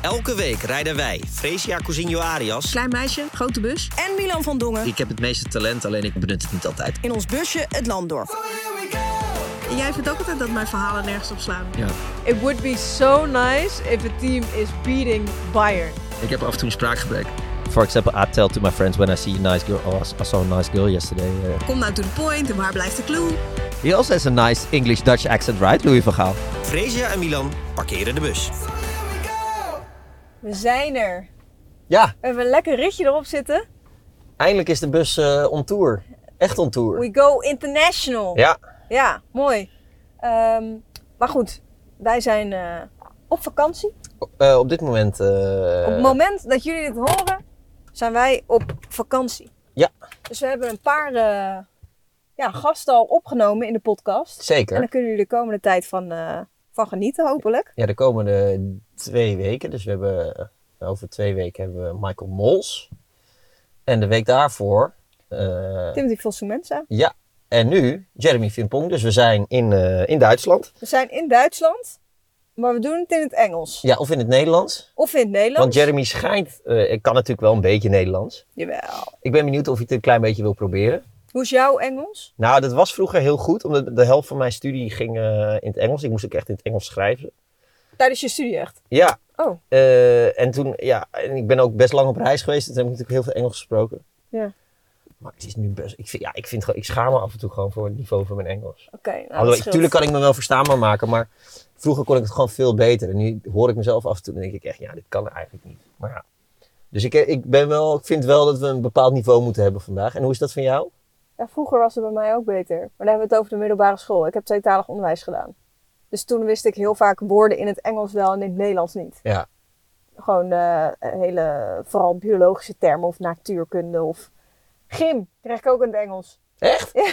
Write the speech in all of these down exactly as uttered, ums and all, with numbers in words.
Elke week rijden wij, Fresia Cousinho Arias, klein meisje, grote bus, en Milan van Dongen. Ik heb het meeste talent, alleen ik benut het niet altijd. In ons busje het land door. En jij vindt ook altijd dat mijn verhalen nergens op slaan. Ja. It would be so nice if a team is beating Bayern. Ik heb af en toe een spraakgebrek. For example, I tell to my friends when I see a nice girl, oh, I saw a nice girl yesterday. Uh. Kom nou to the point en waar blijft de clue? He also has a nice English-Dutch accent, right, Louis van Gaal? Fresia en Milan parkeren de bus. We zijn er. Ja. We hebben een lekker ritje erop zitten. Eindelijk is de bus uh, on tour. Echt on tour. We go international. Ja. Ja, mooi. Um, maar goed, wij zijn uh, op vakantie. Uh, op dit moment... Uh... Op het moment dat jullie dit horen, zijn wij op vakantie. Ja. Dus we hebben een paar uh, ja, gasten al opgenomen in de podcast. Zeker. En daar kunnen jullie de komende tijd van, uh, van genieten, hopelijk. Ja, de komende twee weken. Dus we hebben uh, over twee weken hebben we Michael Mols. En de week daarvoor... Uh, Timothy Fosu-Mensah. Ja. En nu Jeremy Frimpong. Dus we zijn in, uh, in Duitsland. We zijn in Duitsland, maar we doen het in het Engels. Ja, of in het Nederlands. Of in het Nederlands. Want Jeremy schijnt... Uh, ik kan natuurlijk wel een beetje Nederlands. Jawel. Ik ben benieuwd of hij het een klein beetje wil proberen. Hoe is jouw Engels? Nou, dat was vroeger heel goed. Omdat de helft van mijn studie ging uh, in het Engels. Ik moest ook echt in het Engels schrijven. Tijdens je studie echt? Ja. Oh. Uh, en toen, ja, en ik ben ook best lang op reis geweest. Dus heb ik natuurlijk heel veel Engels gesproken. Ja. Maar het is nu best... Ik, vind, ja, ik, vind, ik schaam me af en toe gewoon voor het niveau van mijn Engels. Oké, okay, nou, natuurlijk kan ik me wel verstaanbaar maken, maar vroeger kon ik het gewoon veel beter. En nu hoor ik mezelf af en toe en denk ik echt, ja, dit kan eigenlijk niet. Maar ja. Dus ik, ik, ben wel, ik vind wel dat we een bepaald niveau moeten hebben vandaag. En hoe is dat van jou? Ja, vroeger was het bij mij ook beter. Maar dan hebben we het over de middelbare school. Ik heb tweetalig onderwijs gedaan. Dus toen wist ik heel vaak woorden in het Engels wel en in het Nederlands niet. Ja. Gewoon uh, hele, vooral biologische termen of natuurkunde of... Gym krijg ik ook in het Engels. Echt? Ja.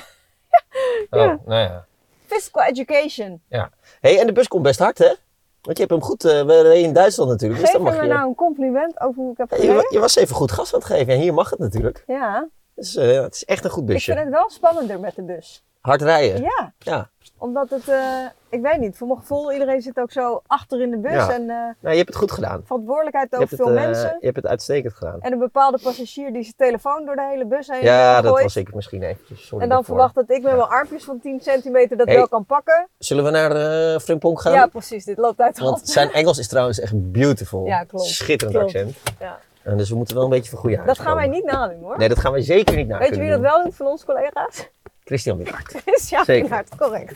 Oh, ja. nou ja. Physical education. Ja. Hey, en de bus komt best hard, hè? Want je hebt hem goed... Uh, we reden in Duitsland natuurlijk. Geef dus dan mag me je... nou een compliment over hoe ik heb ja, gereden? je, je was even goed gas aan het geven. En hier mag het natuurlijk. Ja. Dus uh, het is echt een goed busje. Ik vind het wel spannender met de bus. Hard rijden? Ja. Ja. Omdat het... Uh, ik weet niet. Voor mijn gevoel, iedereen zit ook zo achter in de bus. Ja. En uh, nou, je hebt het goed gedaan. verantwoordelijkheid Je over hebt veel het, uh, mensen. Je hebt het uitstekend gedaan. En een bepaalde passagier die zijn telefoon door de hele bus heen Ja, gooit. dat was ik misschien eventjes. Sorry en dan daarvoor. verwacht dat ik met Ja. mijn armpjes van tien centimeter dat Hey. wel kan pakken. Zullen we naar uh, Frimpong gaan? Ja, precies. Dit loopt uit de hand. Want zijn Engels is trouwens echt beautiful. Ja, klopt. Schitterend Klopt. accent. Ja. En dus we moeten wel een beetje van goede huis Dat gaan wij komen. niet nadoen hoor. Nee, dat gaan wij zeker niet na. Weet je wie dat wel doet van onze collega's? Christian Willaert. Christian Zeker. Willaert, correct.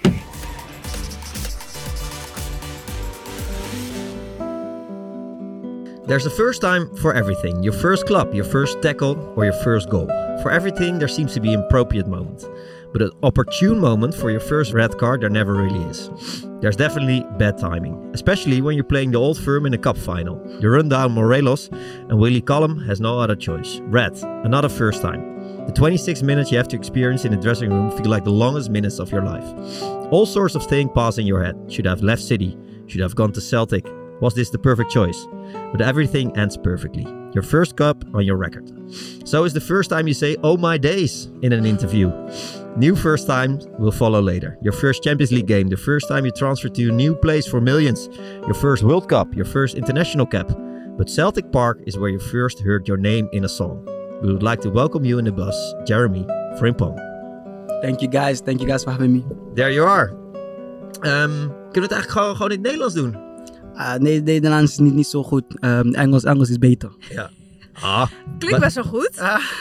There's a first time for everything. Your first club, your first tackle, or your first goal. For everything, there seems to be an appropriate moment. But an opportune moment for your first red card, there never really is. There's definitely bad timing, especially when you're playing the Old Firm in a cup final. You run down Morelos, and Willie Collum has no other choice. Red, another first time. The twenty-six minutes you have to experience in the dressing room feel like the longest minutes of your life. All sorts of things pass in your head. Should I have left City? Should I have gone to Celtic? Was this the perfect choice? But everything ends perfectly. Your first cup on your record. So is the first time you say, oh my days, in an interview. New first time will follow later. Your first Champions League game, the first time you transfer to a new place for millions. Your first World Cup, your first international cap. But Celtic Park is where you first heard your name in a song. We would like to welcome you in the bus, Jeremy Frimpong. Thank you guys, thank you guys for having me. There you are. Um, kunnen we het eigenlijk gewoon, gewoon in het Nederlands doen? Uh, nee, Nederlands is niet, niet zo goed. Um, Engels, Engels is beter. Ja. Ah, Klinkt best wel goed.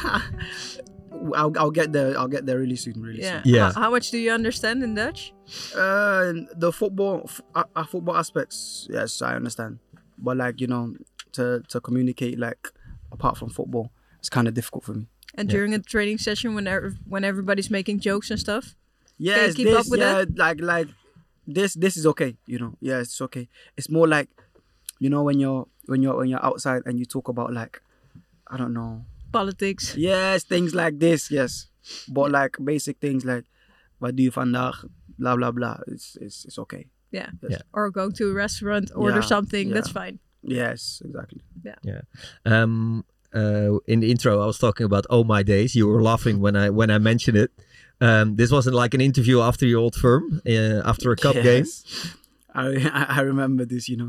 I'll, I'll get there. I'll get there really soon. Really Yeah. soon. Yeah. How, how much do you understand in Dutch? Uh, the football, f- uh, football aspects, yes, I understand. But like you know, to to communicate like apart from football, it's kind of difficult for me. And Yeah. during a training session, when er, when everybody's making jokes and stuff. Yes, Can you keep this, up with yeah, that? like like this this is okay, you know. Yeah, it's okay. It's more like, you know, when you're when you're when you're outside and you talk about like, I don't know. Politics. Yes, things like this, yes. But like basic things like, wat doe je vandaag? Blah blah blah. It's it's it's okay. Yeah. Yes. Yeah. Or go to a restaurant, order Yeah, something. yeah. That's fine. Yes, exactly. Yeah. Um, uh, in the intro, I was talking about "Oh My Days." You were laughing when I when I mentioned it. Um, this wasn't like an interview after your Old Firm, uh, after a cup yes. game. I I remember this, you know.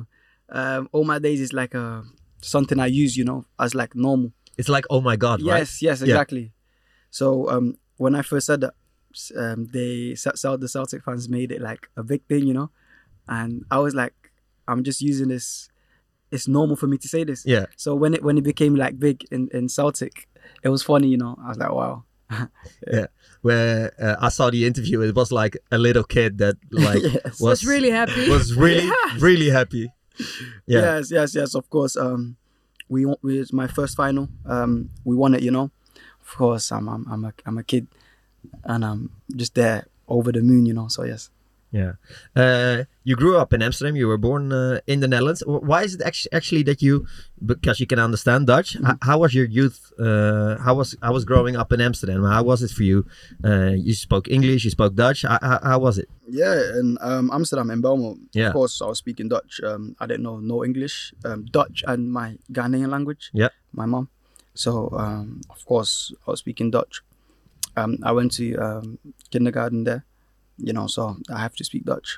um, all my days is like a something I use, you know, as like normal. It's like, oh my God, right? Yes, yes, exactly. So um, when I first said that, um, they the Celtic fans made it like a big thing, you know, and I was like, I'm just using this. It's normal for me to say this. Yeah. So when it when it became like big in, in Celtic, it was funny, you know. I was like, wow. yeah. yeah. Where uh, I saw the interview, it was like a little kid that like yes. was, Was really happy. Was really Yes. really happy. Yeah. Yes, yes, yes. Of course. Um, we won- it was my first final. Um, we won it, you know. Of course, I'm I'm I'm a I'm a kid, and I'm just there over the moon, you know. So yes. Yeah. Uh, you grew up in Amsterdam. You were born uh, in the Netherlands. W- Why is it actually, actually that you, because you can understand Dutch, Mm-hmm. h- how was your youth? Uh, how was I was growing up in Amsterdam? How was it for you? Uh, you spoke English, you spoke Dutch. How, how, how was it? Yeah, in um, Amsterdam, in Belmo, Yeah. of course, I was speaking Dutch. Um, I didn't know no English, um, Dutch and my Ghanaian language. Yeah. My mom. So, um, of course, I was speaking Dutch. Um, I went to um, kindergarten there, you know, so I have to speak Dutch.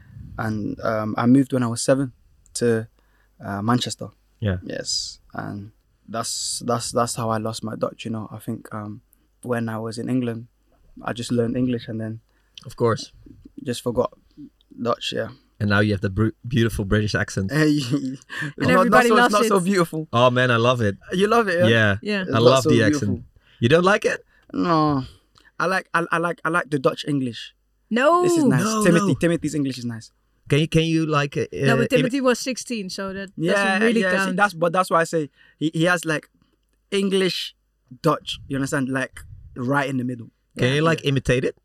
And um, I moved when I was seven to uh, Manchester. Yeah. Yes, and that's that's that's how I lost my Dutch. You know, I think um, when I was in England, I just learned English and then Of course. just forgot Dutch. Yeah. And now you have the br- beautiful British accent. Hey, it's not, everybody not so, loves it's not it. so beautiful. Oh man, I love it. You love it, yeah? Yeah. Yeah. It's I not love so the beautiful. accent. You don't like it? No, I like I, I like I like the Dutch English. No. This is nice. no, Timothy no. Timothy's English is nice. Can you can you like? Uh, No, uh, but Timothy was sixteen, so that Yeah, doesn't really yeah. see, count. that's but that's why I say he, he has like English, Dutch. You understand? Like right in the middle. Can you like imitate it?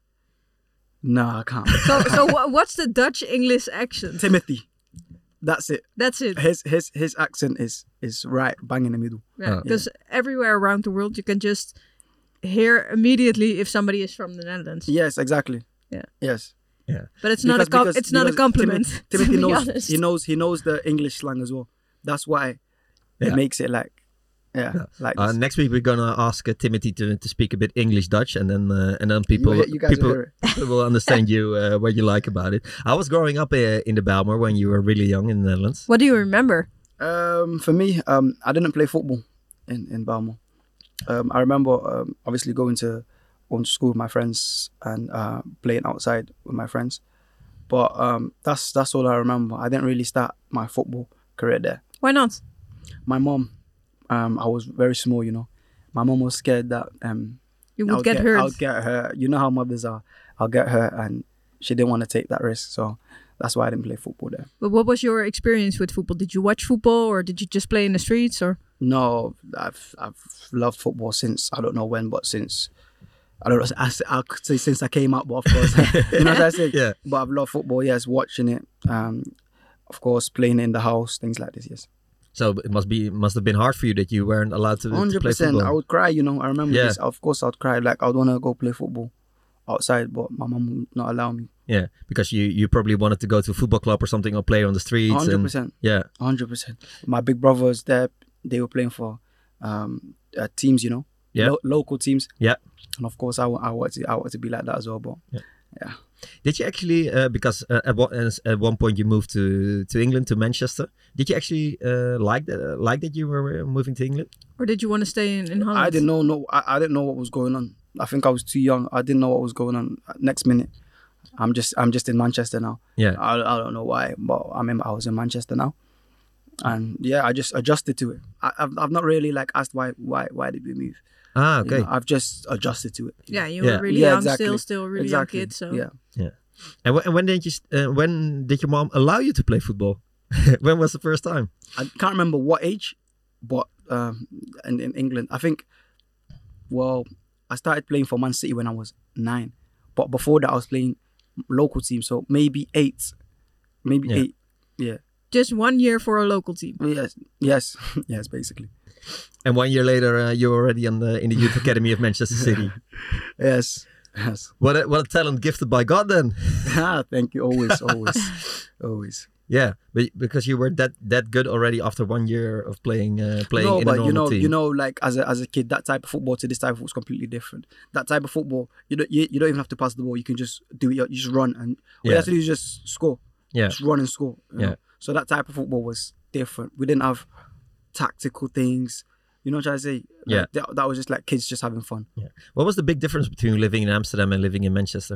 No, I can't. So, so wha- what's the Dutch English accent? Timothy, that's it. That's it. His his his accent is is right bang in the middle. Yeah, Oh. because everywhere around the world you can just hear immediately if somebody is from the Netherlands. Yes, exactly. Yeah. Yes. But it's not a com- it's not a because compliment. Timothy, to Timothy be knows honest. he knows he knows the English slang as well. That's why Yeah. it makes it like yeah, like Uh, this. next week we're gonna ask uh, Timothy to, to speak a bit English Dutch, and then uh, and then people you guys people, will hear it. people will understand you uh, what you like about it. I was growing up uh, in the Bijlmer when you were really young in the Netherlands. What do you remember? Um, for me, um, I didn't play football in in Belmo. Um, I remember um, obviously going to going to school with my friends and uh, playing outside with my friends, but um, that's that's all I remember. I didn't really start my football career there. Why not? My mom, um, I was very small, you know. My mom was scared that um, You I would would get, hurt. I'll get her. You know how mothers are. I'll get her, and she didn't want to take that risk, so that's why I didn't play football there. But what was your experience with football? Did you watch football or did you just play in the streets? Or No, I've I've loved football since I don't know when, but since I don't know. I, I could say since I came up, but of course, you know what I say. Yeah. But I've loved football. Yes, watching it. Um, of course, playing in the house, things like this. Yes, So it must be must have been hard for you that you weren't allowed to, to hundred play percent. football. I would cry. You know, I remember Yeah. this. Of course, I'd cry. Like I'd want to go play football outside, but my mom would not allow me. Yeah, because you, you probably wanted to go to a football club or something or play on the streets. Hundred and- percent. Yeah, Hundred percent. My big brothers there, they were playing for um, uh, teams. You know, Yeah. Lo- local teams. yeah. And of course, I, wa- I want to I want to be like that as well. But yeah. Did you actually, uh, because uh, at, one, as- at one point you moved to, to England, to Manchester. Did you actually uh, like that? Uh, like that you were uh, moving to England? or did you want to stay in, in Holland? I didn't know. No, I, I didn't know what was going on. I think I was too young. I didn't know what was going on. Next minute, I'm just I'm just in Manchester now. Yeah. I, I don't know why, but I remember I was in Manchester now, and yeah, I just adjusted to it. I, I've I've not really like asked why why why did we move. Ah, You okay. know, I've just adjusted to it. Yeah, you Yeah. were really Yeah, young exactly. still, still a really exactly. young kid. So yeah. And, wh- and when did you? st- Uh, when did your mom allow you to play football? When was the first time? I can't remember what age, but um, in, in England, I think, well, I started playing for Man City when I was nine. But before that, I was playing local team, so maybe eight. Maybe Yeah. eight. Yeah. just one year for a local team. Yes. Yes. yes, basically. And one year later, uh, you were already on the, in the youth academy of Manchester City. Yes. Yes. What a, what a talent gifted by God, then. Ah, thank you. Always, always, always. Yeah, but because you were that that good already after one year of playing uh, playing No, in a but normal you know, team. you know, like as a as a kid, that type of football to this type of football is completely different. That type of football, you don't you, you don't even have to pass the ball. You can just do it. You just run, and all Yeah. you have to do is just score. Yeah. Just run and score. you Yeah. know. So that type of football was different. We didn't have tactical things. You know what I'm trying to say? Like, Yeah. That, that was just like kids just having fun. Yeah. What was the big difference between living in Amsterdam and living in Manchester?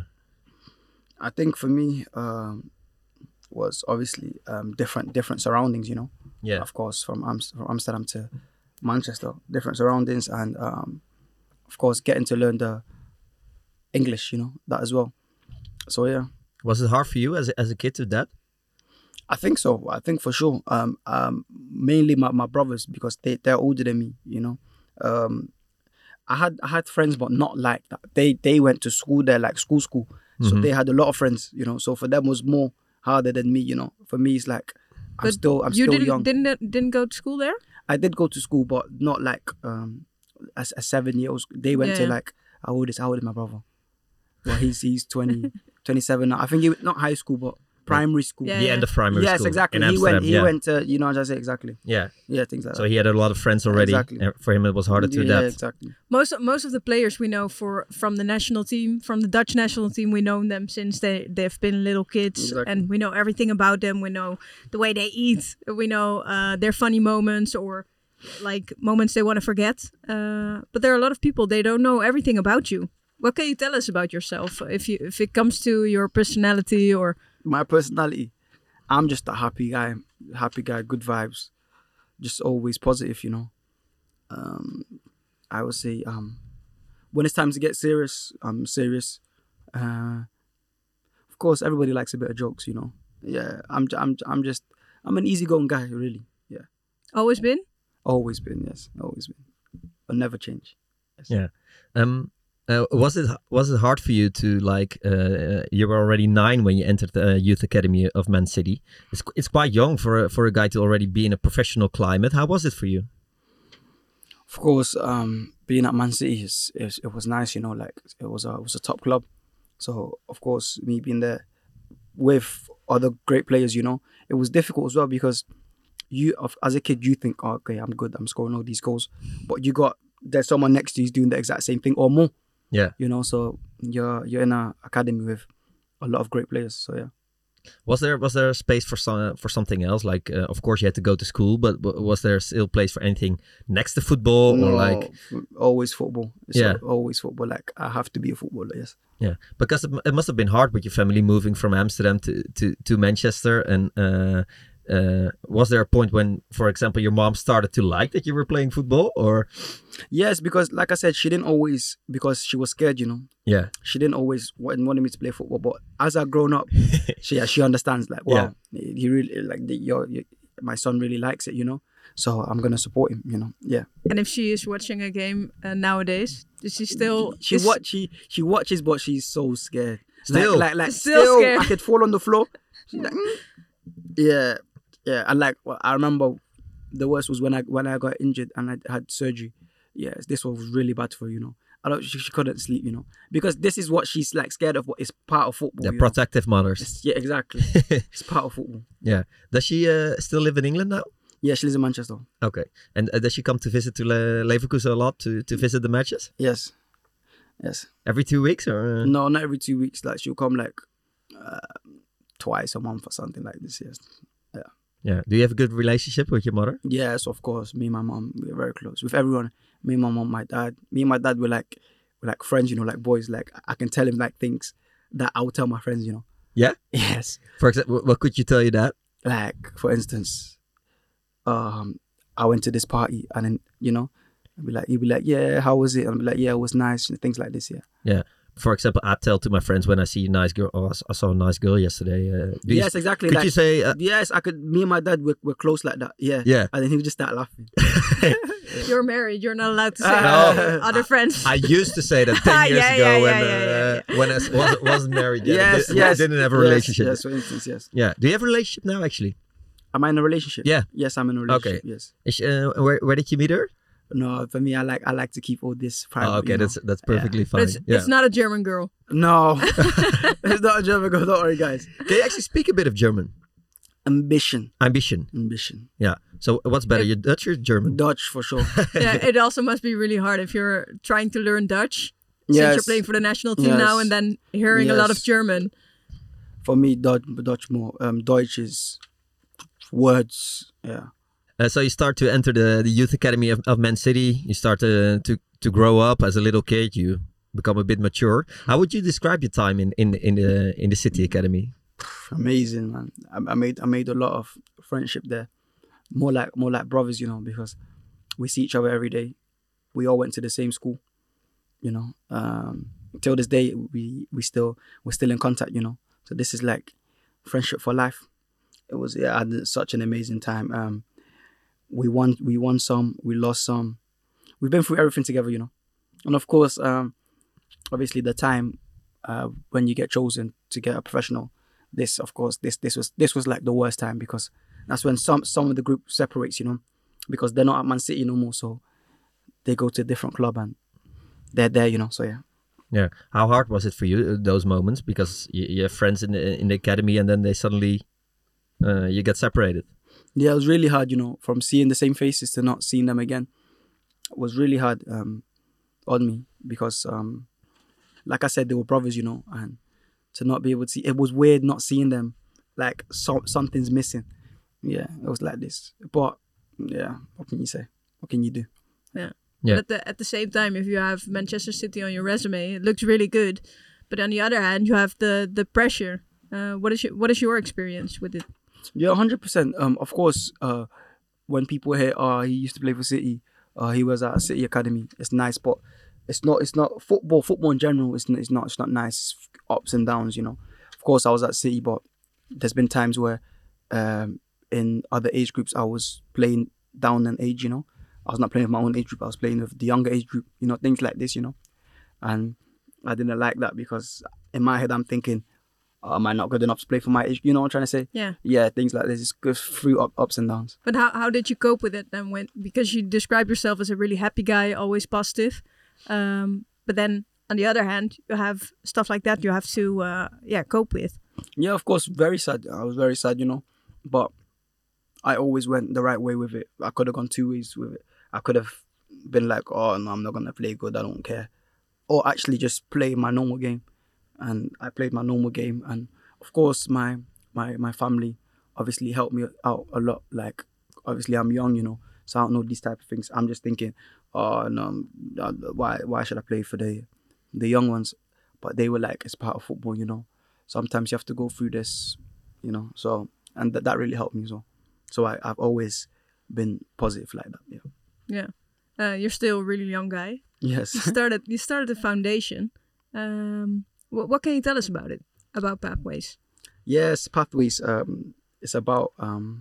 I think for me um, was obviously um, different different surroundings, you know. Yeah. Of course, from, Am- from Amsterdam to Manchester, different surroundings, and um, of course getting to learn the English, you know, that as well. So yeah, Was it hard for you as a, as a kid to adapt? I think so. I think for sure. Um, um, mainly my, my brothers because they they're older than me, you know. Um, I had I had friends, but not like that. They they went to school there, like school school. So Mhm. they had a lot of friends, you know. So for them was more harder than me, you know. For me, it's like I'm But still I'm you still didn't young. didn't didn't go to school there? I did go to school, but not like um as a seven year old. They went to Yeah. like how old is how old is my brother? Well, he's he's twenty, twenty-seven now. I think he not high school, but primary school. Yeah, The end of primary yes, school. exactly. In He Amsterdam, went. He yeah. went to you know what I say exactly. Yeah. Yeah, things like So that. he had a lot of friends already. Exactly. and for him, it was harder to yeah, adapt. exactly. Most of, most of the players we know for from the national team, from the Dutch national team, we know them since they they've been little kids, Exactly. and we know everything about them. We know the way they eat. We know uh, their funny moments or like moments they want to forget. Uh, but there are a lot of people they don't know everything about you. What can you tell us about yourself if you if it comes to your personality or My personality, I'm just a happy guy. Happy guy, good vibes, just always positive. You know. Um, I would say um, when it's time to get serious, I'm serious. Uh, of course, everybody likes a bit of jokes. You know. Yeah, I'm I'm I'm just I'm an easygoing guy, really. Yeah, always been? always been. Yes, always been. I'll never change. Yes. Yeah. Um. Uh, was it was it hard for you to like? Uh, you were already nine when you entered the youth academy of Man City. It's it's quite young for a, for a guy to already be in a professional climate. How was it for you? Of course, um, being at Man City is, is it was nice, you know, like it was a it was a top club. So of course, me being there with other great players, you know, it was difficult as well because you, of- as a kid, you think, oh, okay, I'm good, I'm scoring all these goals, but you got there's someone next to you who's doing the exact same thing or more. Yeah. You know, so you're you're in an academy with a lot of great players. So yeah. Was there was there a space for some for something else? Like, uh, of course, you had to go to school, but, but was there still place for anything next to football or No, like? always football. It's Yeah. always football. Like I have to be a footballer. Yes. Yeah, because it, it must have been hard with your family moving from Amsterdam to to, to Manchester. And uh, uh, was there a point when, for example, your mom started to like that you were playing football, or? Yes, because like I said, she didn't always because she was scared. You know. Yeah. She didn't always want, wanted me to play football, but as I grown up, she yeah, she understands like wow, he really like the, your, your my son really likes it, you know. So I'm gonna support him, you know. Yeah. And if she is watching a game uh, nowadays, does she still? She is- watch she she watches, but she's so scared. Still? like like, like Still still, scared. I could fall on the floor. She's like, mm. yeah, yeah. And like well, I remember, the worst was when I when I got injured and I had surgery. Yes, this one was really bad for her, you know. I don't. She, she couldn't sleep, you know, because this is what she's like scared of. But it's part of football. The you know? protective mothers. It's- yeah, exactly. It's part of football. Yeah. Does she uh, still live in England now? Yeah, she lives in Manchester. Okay. And uh, does she come to visit to Le- Leverkusen a lot to, to visit the matches? Yes, yes. Every two weeks or? Uh... No, not every two weeks. Like she'll come like uh, twice a month or something like this. Yes. Yeah. Do you have a good relationship with your mother? Yes, of course. Me and my mom, we're very close with everyone. Me and my mom, my dad. Me and my dad were like, we're like friends. You know, like boys. Like I can tell him like things that I would tell my friends. You know. Yeah. Yes. For example, what could you tell you that? Like for instance, um, I went to this party and then you know, I'd be like, he'd be like, yeah, how was it? And I'd be like, yeah, it was nice. And things like this. Yeah. Yeah. For example, I tell to my friends when I see a nice girl. Oh, I s- I saw a nice girl yesterday. Uh, do you- Yes, exactly. Could like, you say? Uh, yes, I could. Me and my dad were, were close like that. Yeah. Yeah. And then he would just start laughing. You're married. You're not allowed to say No. that to other friends. I used to say that ten years Yeah, ago yeah, when yeah, yeah, uh, yeah, when I s- wasn't, wasn't married yet. yes, Di- yes. Didn't have a Yes, relationship. Yes, for instance, yes. Yeah. Do you have a relationship now? Actually, Am I in a relationship? Yeah. Yes, I'm in a relationship. Okay. Yes. Is, uh, where where did you meet her? No, for me, I like I like to keep all this private. Oh, okay, you know? that's that's perfectly But fine. it's, yeah. it's not a German girl. No, it's not a German girl. Don't worry, guys. Can you actually speak a bit of German? Ambition, Ambition. ambition. Yeah. So what's better, your Dutch or German? Dutch for sure. Yeah, it also must be really hard if you're trying to learn Dutch since Yes. you're playing for the national team now Yes. and then hearing a lot of Yes. German. For me, Dutch, Dutch more. Um, Deutsch is words. Yeah. Uh, so you start to enter the, the youth academy of, of Man City. You start to, to to grow up as a little kid. You become a bit mature. How would you describe your time in, in, in the in the City Academy? Amazing, man. I, I made I made a lot of friendship there. More like more like brothers, you know, because we see each other every day. We all went to the same school, you know. Um, till this day, we we still we're still in contact, you know. So this is like friendship for life. It was yeah, I had such an amazing time. Um, we won we won some, we lost some. We've been through everything together, you know. And of course, um, obviously the time uh, when you get chosen to get a professional, this of course this this was this was like the worst time, because that's when some some of the group separates, you know, because they're not at Man City no more, so they go to a different club and they're there, you know. So yeah. Yeah. How hard was it for you, those moments? Because you, you have friends in the in the academy, and then they suddenly uh, you get separated. Yeah, it was really hard, you know, from seeing the same faces to not seeing them again. It was really hard um, on me, because, um, like I said, they were brothers, you know, and to not be able to see, it was weird not seeing them, like so, something's missing. Yeah, it was like this. But yeah, what can you say? What can you do? Yeah. Yeah. But at the, at the same time, if you have Manchester City on your resume, it looks really good. But on the other hand, you have the the pressure. Uh, what is your, what is your experience with it? Yeah, one hundred percent. Um, of course, uh, when people hear, oh, he used to play for City, uh, he was at City Academy, it's nice, but it's not, it's not football, football in general, it's not, it's not, it's not nice, it's ups and downs, you know. Of course, I was at City, but there's been times where um, in other age groups, I was playing down in age, you know. I was not playing with my own age group, I was playing with the younger age group, you know, things like this, you know. And I didn't like that, because in my head, I'm thinking, oh, am I not good enough to play for my age? You know what I'm trying to say? Yeah. Yeah, things like this. It goes through up, ups and downs. But how, how did you cope with it then? When, because you describe yourself as a really happy guy, always positive. Um, but then on the other hand, you have stuff like that you have to uh, yeah cope with. Yeah, of course, very sad. I was very sad, you know. But I always went the right way with it. I could have gone two ways with it. I could have been like, oh, no, I'm not going to play good. I don't care. Or actually just play my normal game. And I played my normal game. And of course, my my my family obviously helped me out a lot. Like, obviously, I'm young, you know, so I don't know these type of things. I'm just thinking, oh, no, why why should I play for the the young ones? But they were like, it's part of football, you know. Sometimes you have to go through this, you know. So, and that, that really helped me as well. So I, I've always been positive like that, yeah. Yeah. Uh, you're still a really young guy. Yes. You started, you started the foundation. Um, what, what can you tell us about it, about Pathways? Yes, Pathways. Um, it's about um,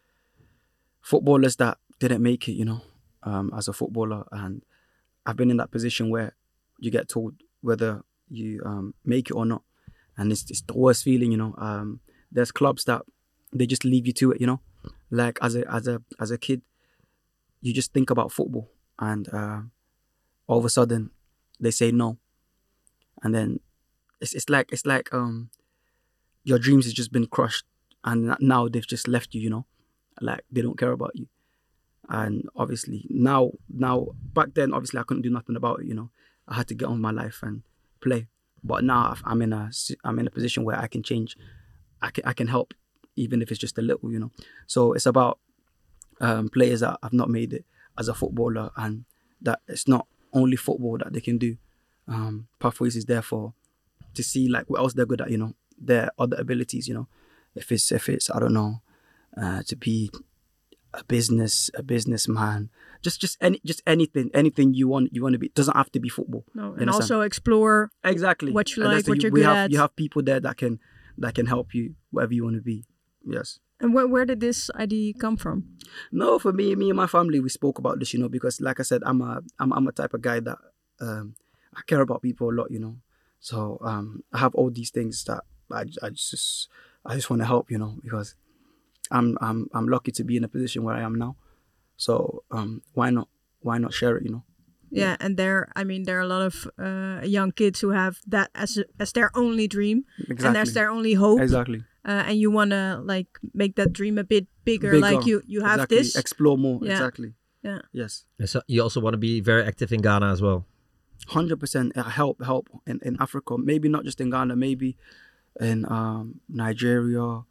footballers that didn't make it, you know, um, as a footballer. And I've been in that position where you get told whether you um, make it or not. And it's, it's the worst feeling, you know. Um, there's clubs that they just leave you to it, you know. Like as a as a as a kid, you just think about football, and uh, all of a sudden they say no, and then it's it's like it's like um your dreams has just been crushed, and now they've just left you, you know, like they don't care about you. And obviously now now back then obviously I couldn't do nothing about it, you know. I had to get on with my life and play. But now I'm in a I'm in a position where I can change. I can I can help, even if it's just a little, you know. So it's about um, players that have not made it as a footballer, and that it's not only football that they can do. Um, Pathways is there for to see like what else they're good at, you know, their other abilities, you know. If it's if it's I don't know, uh, to be a business a businessman, just just any just anything anything you want you want to be. It doesn't have to be football. No, and also explore exactly what you and like, what you, you're we good have, at. You have people there that can that can help you whatever you want to be. Yes. And where where did this idea come from? No, for me, me and my family, we spoke about this, you know, because like I said, I'm a I'm I'm a type of guy that um I care about people a lot, you know. So um I have all these things that I I just I just want to help, you know, because I'm I'm I'm lucky to be in a position where I am now. So um why not why not share it, you know? Yeah, yeah. And there, I mean, there are a lot of uh, young kids who have that as a, as their only dream, Exactly. and that's their only hope. Exactly. Uh, and you want to like make that dream a bit bigger, Bigger. like you you have exactly. this. Explore more. Yeah. Exactly. Yeah. Yes. And so you also want to be very active in Ghana as well. Hundred percent help help in, in Africa. Maybe not just in Ghana. Maybe in um, Nigeria,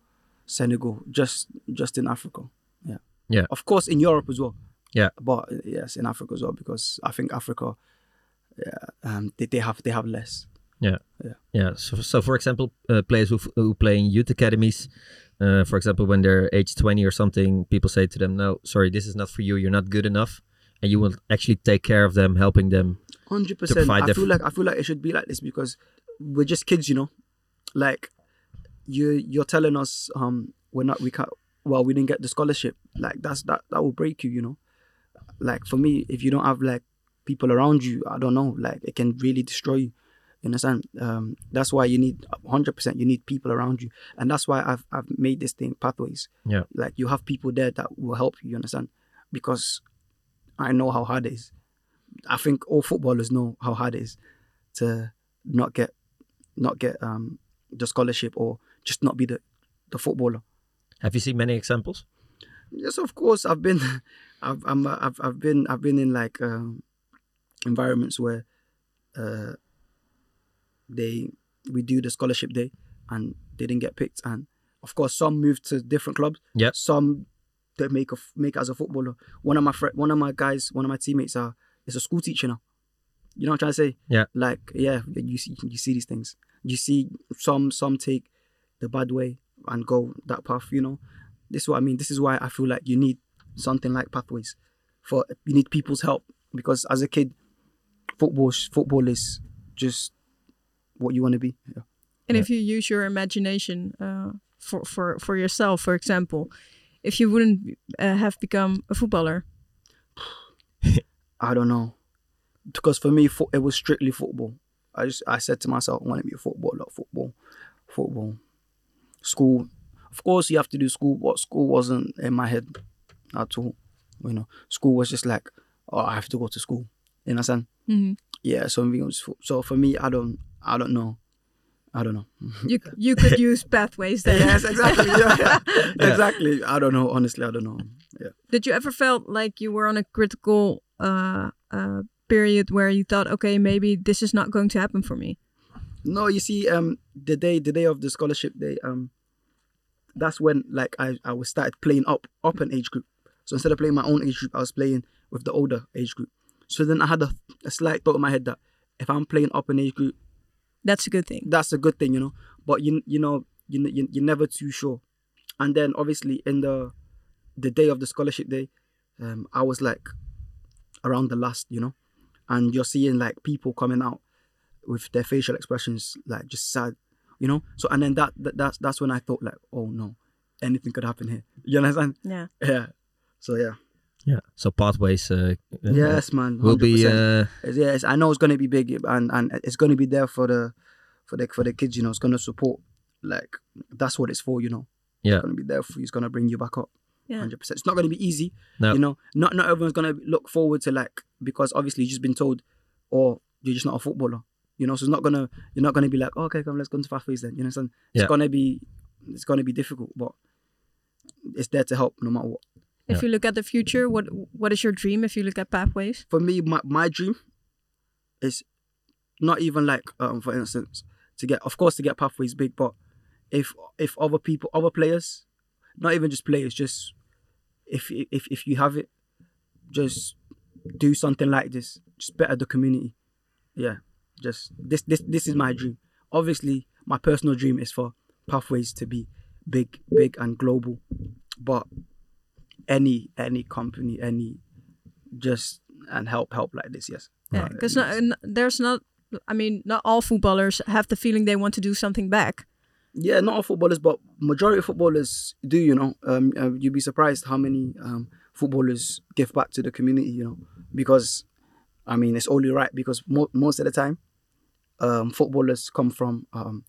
Senegal, just just in Africa. Yeah. Yeah. Of course, in Europe as well. Yeah. But uh, yes, in Africa as well, because I think Africa, yeah, um, they, they have they have less. Yeah. Yeah. Yeah. So, so for example, uh, players who, f- who play in youth academies, uh, for example, when they're age twenty or something, people say to them, no, sorry, this is not for you. You're not good enough. And you will actually take care of them, helping them. Hundred To percent. provide I their feel f- like I feel like it should be like this because we're just kids, you know. Like you you're telling us um we're not we can't well we didn't get the scholarship. Like that's that that will break you, you know. Like for me, if you don't have like people around you, I don't know, like it can really destroy you. You understand? Um, that's why you need hundred percent. You need people around you, and that's why I've I've made this thing pathways. Yeah. Like you have people there that will help you. You understand? Because I know how hard it is. I think all footballers know how hard it is to not get not get um the scholarship or just not be the the footballer. Have you seen many examples? Yes, of course. I've been, I've I'm, I've I've been I've been in like um, environments where uh, they we do the scholarship day and they didn't get picked, and of course some moved to different clubs. Yeah. Some they make a make as a footballer. One of my fr- one of my guys, one of my teammates are is a school teacher now. You know what I'm trying to say? Yeah. Like yeah, you see you see these things. You see some some take the bad way and go that path. You know. This is what I mean. This is why I feel like you need something like Pathways. For you need people's help because as a kid, football football is just what you want to be. Yeah. And Yeah. if you use your imagination uh, for, for, for yourself, for example, if you wouldn't uh, have become a footballer, I don't know, because for me fo- it was strictly football. I just I said to myself, I want to be a footballer. Football, football, school. Of course, you have to do school, but school wasn't in my head at all. You know, school was just like, oh, I have to go to school. You understand? Mhm. Yeah. So, it was, so for me, I don't, I don't know. I don't know. you you could use Pathways then. Yes, exactly. Yeah, yeah. Exactly. I don't know. Honestly, I don't know. Yeah. Did you ever felt like you were on a critical uh, uh, period where you thought, okay, maybe this is not going to happen for me? No, you see, um, the day, the day of the scholarship day, um, that's when like I, I was started playing up, up an age group. So instead of playing my own age group, I was playing with the older age group. So then I had a, a slight thought in my head that if I'm playing up an age group, That's a good thing. that's a good thing, you know. But you you know you you you're never too sure. And then obviously in the the day of the scholarship day, um, I was like around the last, you know, and you're seeing like people coming out with their facial expressions like just sad, you know. So and then that, that that's that's when I thought like, oh no, anything could happen here. You understand? Yeah. Yeah. So yeah. Yeah. So Pathways uh, uh, Yes, man. will be. one hundred percent. Uh, It's- yeah, it's, I know it's gonna be big, and and it's gonna be there for the for the for the kids. You know, it's gonna support. Like that's what it's for. You know, Yeah. it's gonna be there for you. It's gonna bring you back up. Yeah. Hundred percent. It's not gonna be easy. No. You know, not not everyone's gonna look forward to like because obviously you've just been told, or you're just not a footballer. You know, so it's not gonna you're not gonna be like, oh, okay, come, let's go into Pathways then. You know, what I'm saying? It's Yeah. gonna be it's gonna be difficult, but it's there to help no matter what. If Yeah. you look at the future, what what is your dream if you look at Pathways? For me, my, my dream is not even like, um, for instance, to get, of course, to get Pathways big, but if if other people, other players, not even just players, just if if if you have it, just do something like this, just better the community. Yeah, just this this this is my dream. Obviously, my personal dream is for Pathways to be big, big and global, but any any company, any just and help help like this, yes. Yeah, because there's not. I mean, not all footballers have the feeling they want to do something back. Yeah, not all footballers, but majority of footballers do. You know, um, uh, you'd be surprised how many um footballers give back to the community. You know, because I mean it's only right because mo- most of the time, um, footballers come from um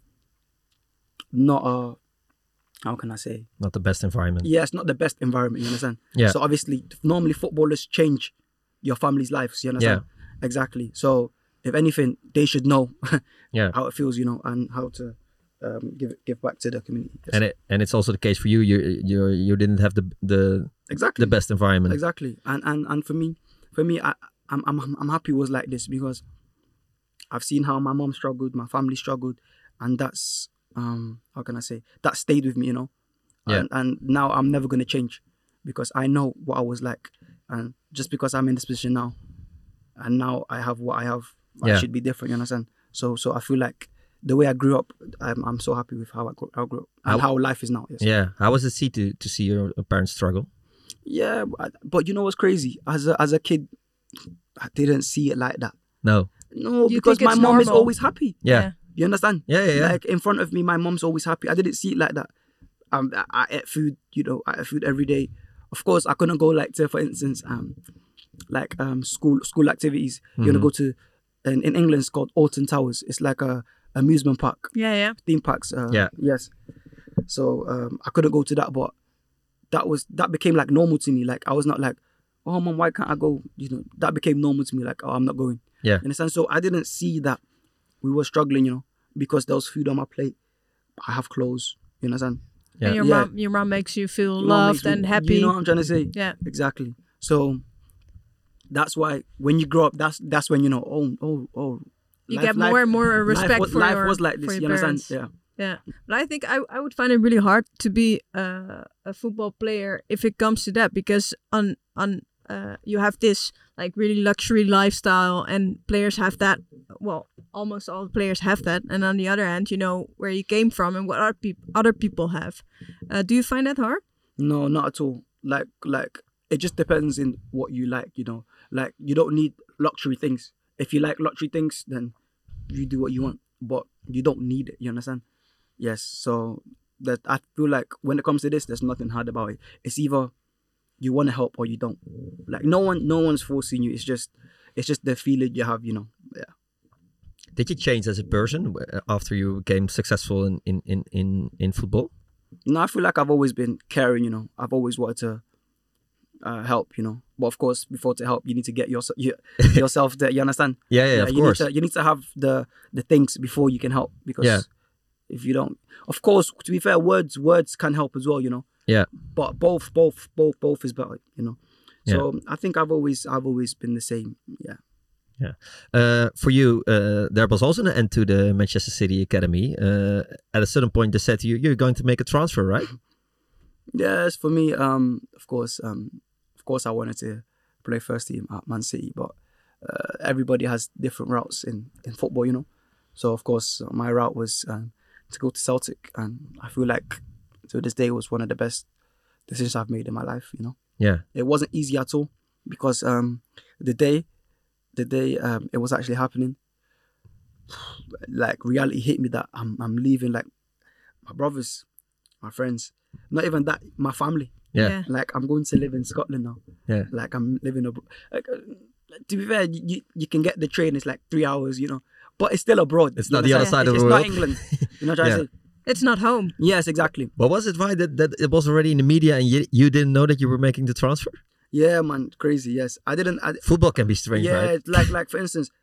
not a how can I say not the best environment. yeah, it's not the best environment. You understand? Yeah. So obviously, normally footballers change your family's lives. You understand? Exactly. So if anything, they should know Yeah. how it feels, you know, and how to um, give give back to the community. Yes. And it and it's also the case for you. You you you didn't have the the exactly the best environment. Exactly. And and and for me, for me, I I'm I'm I'm happy it was like this because I've seen how my mom struggled, my family struggled, and that's um how can I say that stayed with me, you know. Yeah. And, and now I'm never going to change because I know what I was like. And just because I'm in this position now, and now I have what I have, Yeah. I should be different, you understand? So so I feel like the way I grew up, I'm, I'm so happy with how I grew, I grew up and How- how life is now. Yes. Yeah. How was it see to, to see your parents struggle? Yeah, but, but you know what's crazy? As a, as a kid, I didn't see it like that. No. No, You because think my it's mom is normal? always happy. Yeah. You understand? Yeah, yeah, yeah. Like in front of me, my mom's always happy. I didn't see it like that. Um, I, I ate food, you know, I ate food every day. Of course, I couldn't go like to, for instance, um, like um, school school activities. Mm-hmm. You're gonna go to, in, in England, it's called Alton Towers. It's like a amusement park, Yeah, yeah. theme parks. Uh, Yeah. Yes. So um, I couldn't go to that, but that was that became like normal to me. Like I was not like, oh mom, why can't I go? You know, that became normal to me. Like, oh, I'm not going. Yeah. You understand? So I didn't see that we were struggling, you know, because there was food on my plate. I have clothes. You understand? Yeah. And your Yeah. mom, your mom makes you feel Your mom loved makes me- and happy. You know what I'm trying to say? Yeah. Exactly. So that's why when you grow up, that's that's when you know. Oh, oh, oh. You life- get life- more and more respect life was, for life your was like for this. your You understand? parents. Yeah. Yeah, but I think I, I would find it really hard to be uh, a football player if it comes to that, because on on uh, you have this like really luxury lifestyle and players have that. Well, almost all players have that, and on the other hand, you know where you came from and what other people other people have. Uh, do you find that hard? No, not at all. Like like it just depends in what you like. You know, like you don't need luxury things. If you like luxury things, then you do what you want, but you don't need it. You understand? Yes, so that I feel like when it comes to this, there's nothing hard about it. It's either you want to help or you don't. Like no one, no one's forcing you. It's just, it's just the feeling you have, you know. Yeah. Did you change as a person uh, after you became successful in in in in, in football? No, I feel like I've always been caring. You know, I've always wanted to uh, help. You know, but of course, before to help, you need to get your, your yourself there. You understand? Yeah, yeah, of you course. Need to, you need to have the the things before you can help, because. Yeah. If you don't, of course, to be fair, words words can help as well, you know. Yeah. But both, both, both, both is better, you know. So I think I've always, I've always been the same. Yeah. Yeah. Uh, for you, uh, there was also an end to the Manchester City Academy. Uh, at a certain point, they said to you, "You're going to make a transfer, right?" Yes, for me, um, of course, um, of course, I wanted to play first team at Man City, but uh, everybody has different routes in in football, you know. So of course, my route was um, to go to Celtic, and I feel like to this day was one of the best decisions I've made in my life, you know. Yeah. It wasn't easy at all, because um, the day, the day um, it was actually happening, like reality hit me that I'm I'm leaving, like my brothers, my friends, not even that, my family. Yeah. Yeah. Like I'm going to live in Scotland now. Yeah. Like I'm living abroad. Like, uh, to be fair, you, you you can get the train. It's like three hours, you know, but it's still abroad. It's you not the other understand? side of It's the not world. England. You know what I'm Yeah. trying to say? It's not home. Yes, exactly. But was it right that, that it was already in the media and you, you didn't know that you were making the transfer? Yeah, man, crazy. Yes, I didn't. I, Football can be strange, yeah, right? it's like like for instance,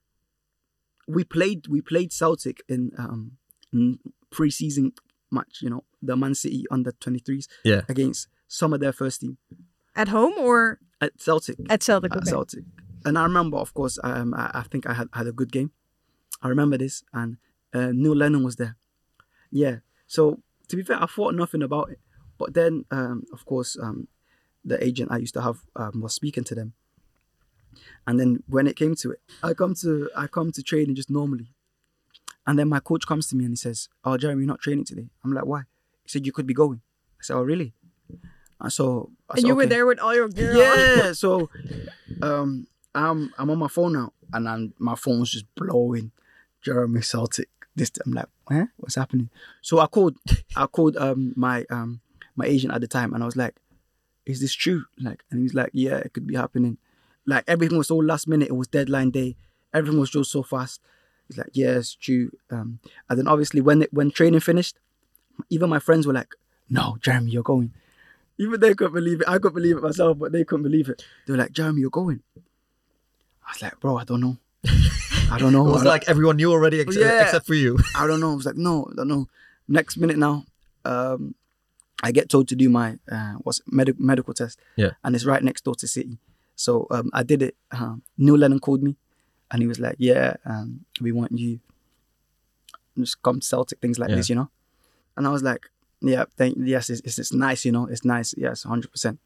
we played we played Celtic in um in pre-season match. You know, the Man City under twenty-threes Yeah. against some of their first team At home or at Celtic. at Celtic? At Okay. Celtic, and I remember, of course, um, I, I think I had had a good game. I remember this, and uh, Neil Lennon was there. Yeah. So to be fair, I thought nothing about it, but then, um, of course, um, the agent I used to have um, was speaking to them, and then when it came to it, I come to I come to training just normally, and then my coach comes to me and he says, "Oh, Jeremy, you're not training today." I'm like, "Why?" He said, "You could be going." I said, "Oh, really?" And so I And said, you were "Okay." there with all your gear on. Yeah, so um, I'm I'm on my phone now, and I'm, my phone was just blowing. Jeremy Celtic. This I'm like, eh? What's happening? So I called, I called um my um my agent at the time, and I was like, "Is this true?" Like, and he was like, "Yeah, it could be happening." Like everything was so last minute. It was deadline day. Everything was just so fast. He's like, "Yeah, it's true." Um, and then obviously when it, when training finished, even my friends were like, "No, Jeremy, you're going." Even they couldn't believe it. I couldn't believe it myself, but they couldn't believe it. They were like, "Jeremy, you're going." I was like, "Bro, I don't know. I don't know." It was I don't- like everyone knew already ex- Yeah. except for you. I don't know. I was like, "No, I don't know." Next minute now, um, I get told to do my uh, what's medic medical test. Yeah. And it's right next door to City. So um, I did it. Um, Neil Lennon called me, and he was like, "Yeah, um, we want you. Just come to Celtic, things like Yeah. this, you know." And I was like, Yeah, thank yes, it's, it's it's nice, you know, it's nice. Yes, one hundred percent.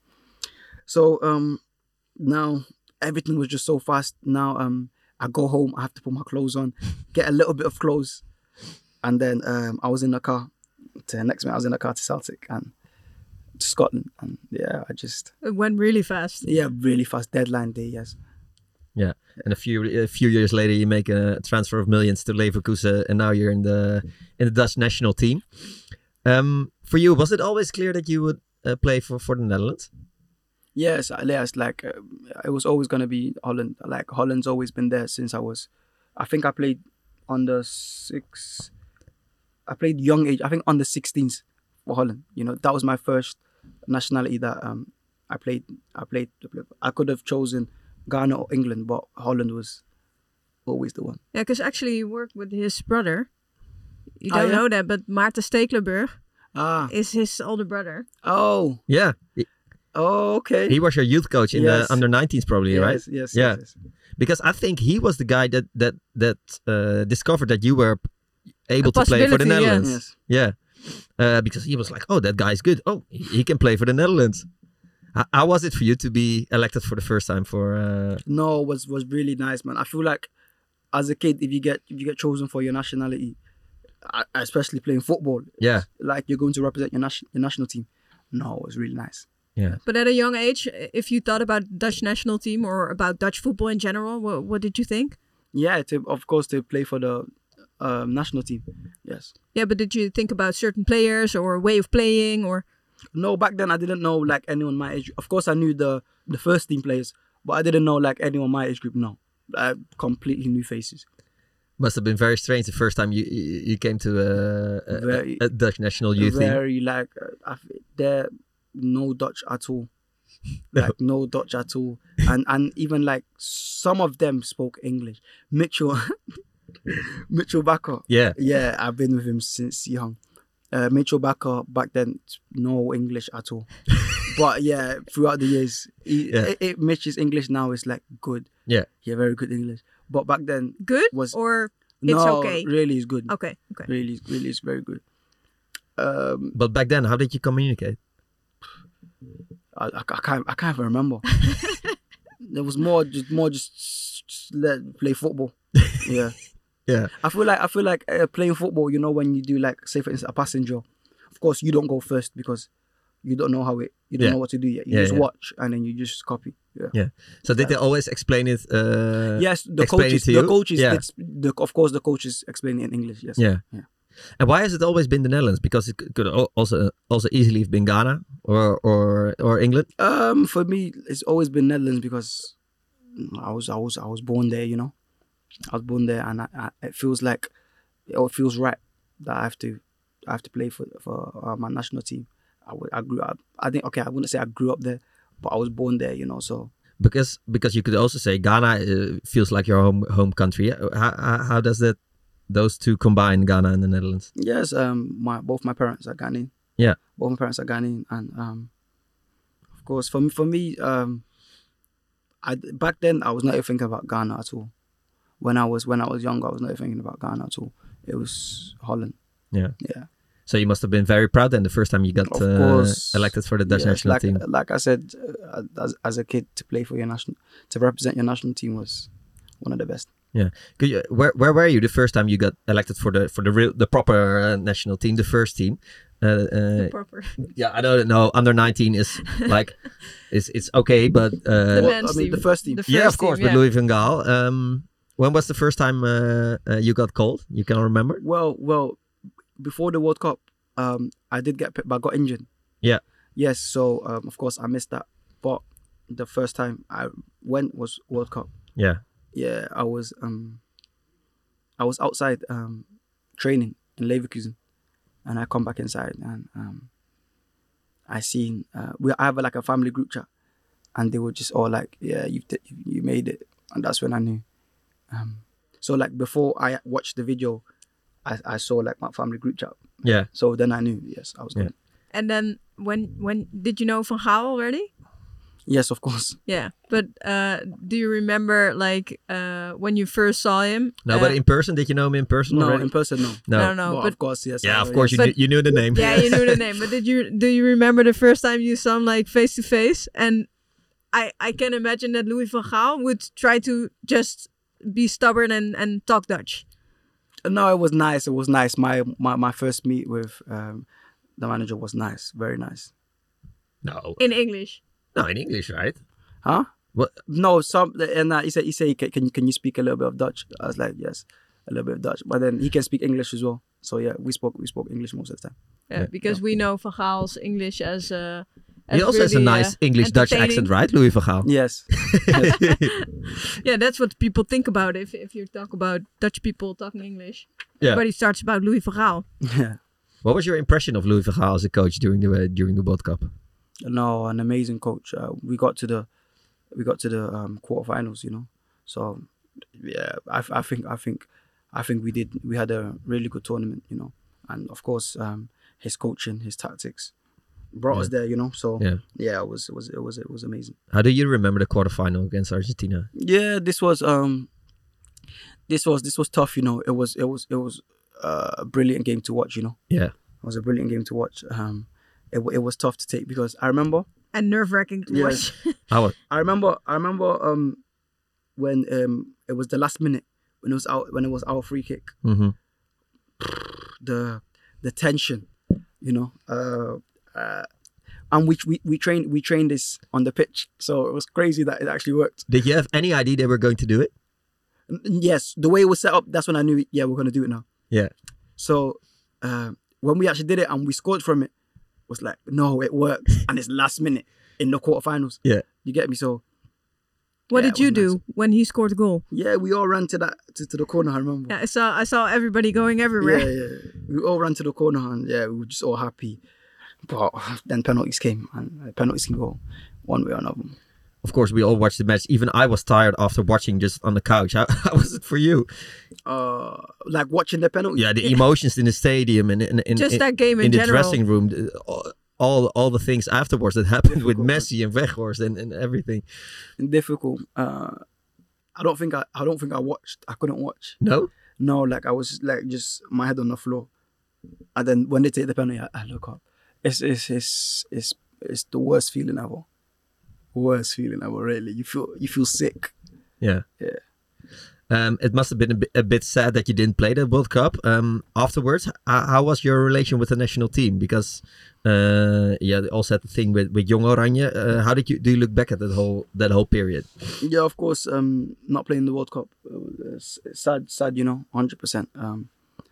So um, now everything was just so fast. Now um, I go home, I have to put my clothes on, get a little bit of clothes, and then um, I was in the car. To next minute, I was in the car to Celtic and to Scotland, and yeah, I just It went really fast. yeah, really fast deadline day. Yes. Yeah, and a few a few years later, you make a transfer of millions to Leverkusen, and now you're in the in the Dutch national team. Um, for you, was it always clear that you would uh, play for, for the Netherlands? Yes, yes. Like uh, it was always gonna be Holland. Like Holland's always been there since I was. I think I played under six. I played young age. I think under sixteens for Holland. You know, that was my first nationality that um I played. I played. I could have chosen Ghana or England, but Holland was always the one. Yeah, because actually you worked with his brother. You Ah, don't yeah? know that, but Maarten Stekelenburg Ah. is his older brother. Oh. Yeah. He, oh, okay. He was your youth coach in Yes. the under nineteens, probably, yes, right? Yes. Yeah. Yes, yes. Because I think he was the guy that that that uh, discovered that you were able to play for the possibility, yeah. Netherlands. Yes. Yeah. Uh, because he was like, oh, that guy's good. Oh, he, he can play for the Netherlands. How, how was it for you to be elected for the first time for? Uh... No, it was was really nice, man. I feel like as a kid, if you get if you get chosen for your nationality, I- especially playing football, Yeah. like you're going to represent your nation your national team. No, it was really nice. Yeah. But at a young age, if you thought about Dutch national team or about Dutch football in general, what, what did you think? Yeah, to of course to play for the um, national team. Yes. Yeah, but did you think about certain players or way of playing or? No, back then I didn't know like anyone my age. Of course, I knew the the first team players, but I didn't know like anyone my age group. No, I completely new faces. Must have been very strange the first time you you, you came to a, a, Very- a Dutch national youth team. Very like uh, I, there no Dutch at all. Like no Dutch at all, and and even like some of them spoke English. Mitchell, Mitchell Bakker. Yeah. Yeah, I've been with him since young. Uh, Mitchell Bakker back then, no English at all. But yeah, throughout the years, he, Yeah. it, it, Mitch's English now is like good. Yeah. Yeah, very good English. But back then, Good was or it's no, okay? really is good. Okay, okay. Really, really is very good. Um, But back then, how did you communicate? I, I, I can't I can't even remember. There was more just more just, just let play football. Yeah. Yeah. I feel like I feel like uh, playing football. You know, when you do like say for instance a passing drill, of course you don't go first because you don't know how it you don't Yeah. know what to do yet. You Yeah, just yeah. watch and then you just copy. Yeah. Yeah. So did they always explain it? Uh, Yes, the explain it coaches. to The you? coaches. Yeah. It's, the, of course, the coaches explain it in English. Yes. Yeah. Yeah. And why has it always been the Netherlands? Because it could al- also also easily have been Ghana or or or England. Um, for me, it's always been Netherlands because I was I was I was born there. You know, I was born there, and I, I, it feels like it feels right that I have to I have to play for for uh, my national team. I, w- I grew up. I think okay, I wouldn't say I grew up there, but I was born there. You know, so Because because you could also say Ghana uh, feels like your home home country. How, how, how does that those two combine, Ghana and the Netherlands? yes. Um, my both my parents are Ghanaian. Yeah. Both my parents are Ghanaian, and um, of course for me for me um, I back then I was not even thinking about Ghana at all. When I was when I was younger, I was not even thinking about Ghana at all. It was Holland. Yeah. Yeah. So you must have been very proud then the first time you got Of uh, course. elected for the Dutch Yes, national like, team. Like I said, uh, as, as a kid, to play for your national, to represent your national team was one of the best. Yeah. Could you, where where were you the first time you got elected for the for the real the proper uh, national team, the first team? Uh, uh, Proper. yeah, I don't know. Under nineteen is like, it's it's okay, but uh, The Well, men's I mean, team. the first team. The yeah, of first course, team, with yeah. Louis van Gaal. Um, when was the first time uh, uh, you got called? You can remember? Well, well, before the World Cup, um, I did get picked, but I got injured. Yeah. Yes, so um, of course I missed that. But the first time I went was World Cup. Yeah. Yeah, I was um, I was outside um, training in Leverkusen, and I come back inside and um, I seen uh, we I have like a family group chat, and they were just all like, "Yeah, you t- you made it," and that's when I knew. Um, so like before I watched the video, I, I saw like my family group chat. Yeah. So then I knew, yes, I was Yeah. good. And then when when did you know Van Gaal already? Yes, of course. Yeah, but uh, do you remember like uh, when you first saw him? No, uh, but in person, did you know him in person No, already? in person, no. No. I don't know, But but of course, yes. Yeah, I- of course yes. you, knew, you knew the name. yeah, you knew the name. But did you do you remember the first time you saw him like face to face? And I I can imagine that Louis van Gaal would try to just be stubborn and, and talk Dutch. No, it was nice. It was nice. My my, my first meet with um, the manager was nice. Very nice. No, In English. no, in English, right? Huh? What? No, some and uh, he said he said can, can you can you speak a little bit of Dutch? I was like yes, a little bit of Dutch. But then he can speak English as well. So yeah, we spoke we spoke English most of the time. Yeah, Yeah. because we know Van Gaal's English as uh, as He also has a really, nice uh, English-Dutch accent, entertaining. right, Louis van Gaal? Yes. Yeah, that's what people think about if if you talk about Dutch people talking English. Yeah. Everybody starts about Louis van Gaal. Yeah. What was your impression of Louis van Gaal as a coach during the uh, during the World Cup? No, an amazing coach. Uh, we got to the we got to the um, quarterfinals, you know. So yeah, I, I think I think I think we did we had a really good tournament, you know. And of course, um, his coaching, his tactics brought us Yeah. there, you know. So Yeah. yeah, it was it was it was it was amazing. How do you remember the quarterfinal against Argentina? Yeah, this was um this was this was tough, you know. It was it was it was uh, a brilliant game to watch, you know. Yeah. It was a brilliant game to watch. Um, it wa- it was tough to take because I remember And nerve wracking to Yes. watch. How was I remember I remember um when um it was the last minute when it was out when it was our free kick, mm-hmm. the the tension, you know. Uh, uh and we we we trained we trained this on the pitch, so it was crazy that it actually worked. Did you have any idea they were going to do it? N- Yes, the way it was set up, that's when I knew, yeah, we're gonna do it now. Yeah. So uh, when we actually did it and we scored from it, it was like, no, it worked, and it's last minute in the quarterfinals. Yeah. You get me? So What Yeah, did it you was do nice. when he scored a goal? yeah, we all ran to that to, to the corner. I remember. Yeah, I saw I saw everybody going everywhere. Yeah, yeah. We all ran to the corner and yeah, we were just all happy. But then penalties came and uh, penalties can go one way or another. Of course, we all watched the match. Even I was tired after watching just on the couch. How, how was it for you? Uh, like watching the penalty. Yeah, the emotions in the stadium and in, in, Just in, that game in in the general. dressing room. the- all- All all the things afterwards that happened with Messi and Weghorst and, and everything. Difficult. Uh, I don't think I. I don't think I watched. I couldn't watch. No? No, like I was like just my head on the floor, and then when they take the penalty, I, I look up. It's it's it's it's it's the worst feeling ever. Worst feeling ever. Really, you feel you feel sick. Yeah. Yeah. Um, it must have been a bit, a bit sad that you didn't play the World Cup. Um, afterwards, how, how was your relation with the national team? Because uh, yeah, they also had the thing with with Jong Oranje. Uh, how did you do you look back at that whole that whole period? Yeah, of course. Um, not playing the World Cup. uh, It's, it's sad, sad. You know, hundred percent. Um,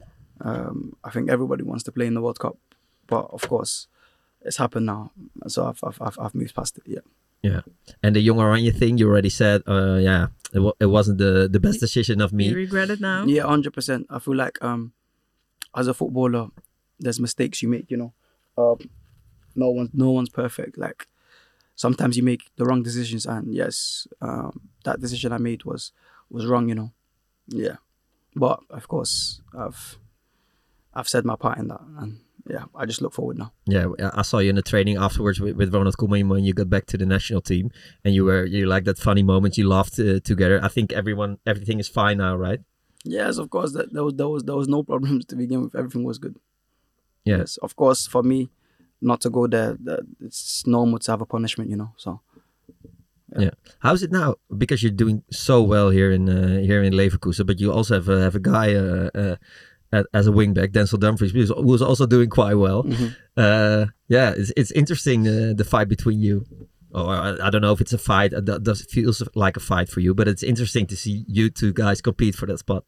um, I think everybody wants to play in the World Cup, but of course, it's happened now. So I've I've I've, I've moved past it. Yeah. Yeah, and the Jong Oranje thing, you already said. Uh, yeah, it, wa- it wasn't the, the best decision of You me. regret it now? Yeah, hundred percent. I feel like um, as a footballer, there's mistakes you make. You know, um, no one, no one's perfect. Like sometimes you make the wrong decisions, and yes, um, that decision I made was was wrong. You know, yeah. But of course, I've I've said my part in that, and yeah, I just look forward now. Yeah, I saw you in the training afterwards with, with Ronald Koeman when you got back to the national team, and you were you like that funny moment. You laughed uh, together. I think everyone everything is fine now, right? Yes, of course. That there was there was there was no problems to begin with. Everything was good. Yeah. Yes, of course. For me, not to go there, that it's normal to have a punishment. You know, so. Yeah. How's it now? Because you're doing so well here in uh, here in Leverkusen, but you also have a, have a guy uh, uh, at, as a wingback, Denzel Dumfries, who's, who's also doing quite well. Mhm. Uh, yeah, it's it's interesting uh, the fight between you. Oh, I, I don't know if it's a fight. It do- does it feels like a fight for you, but it's interesting to see you two guys compete for that spot.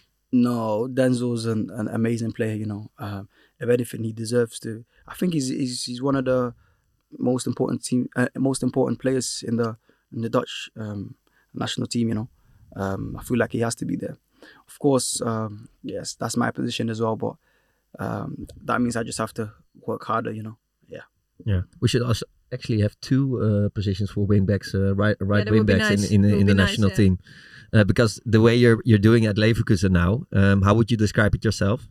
No, Denzel's an, an amazing player. You know, um, if anything, he deserves to. I think he's he's, he's one of the most important team, uh, most important players in the in the Dutch um, national team. You know, um, I feel like he has to be there. Of course, um, yes, that's my position as well. But um, that means I just have to work harder. You know. Yeah. Yeah, we should also actually have two uh, positions for wingbacks, uh, right, right that would be wingbacks nice. in in, It the- would in the be nice, national yeah. team, uh, because the way you're you're doing at Leverkusen now, um, how would you describe it yourself?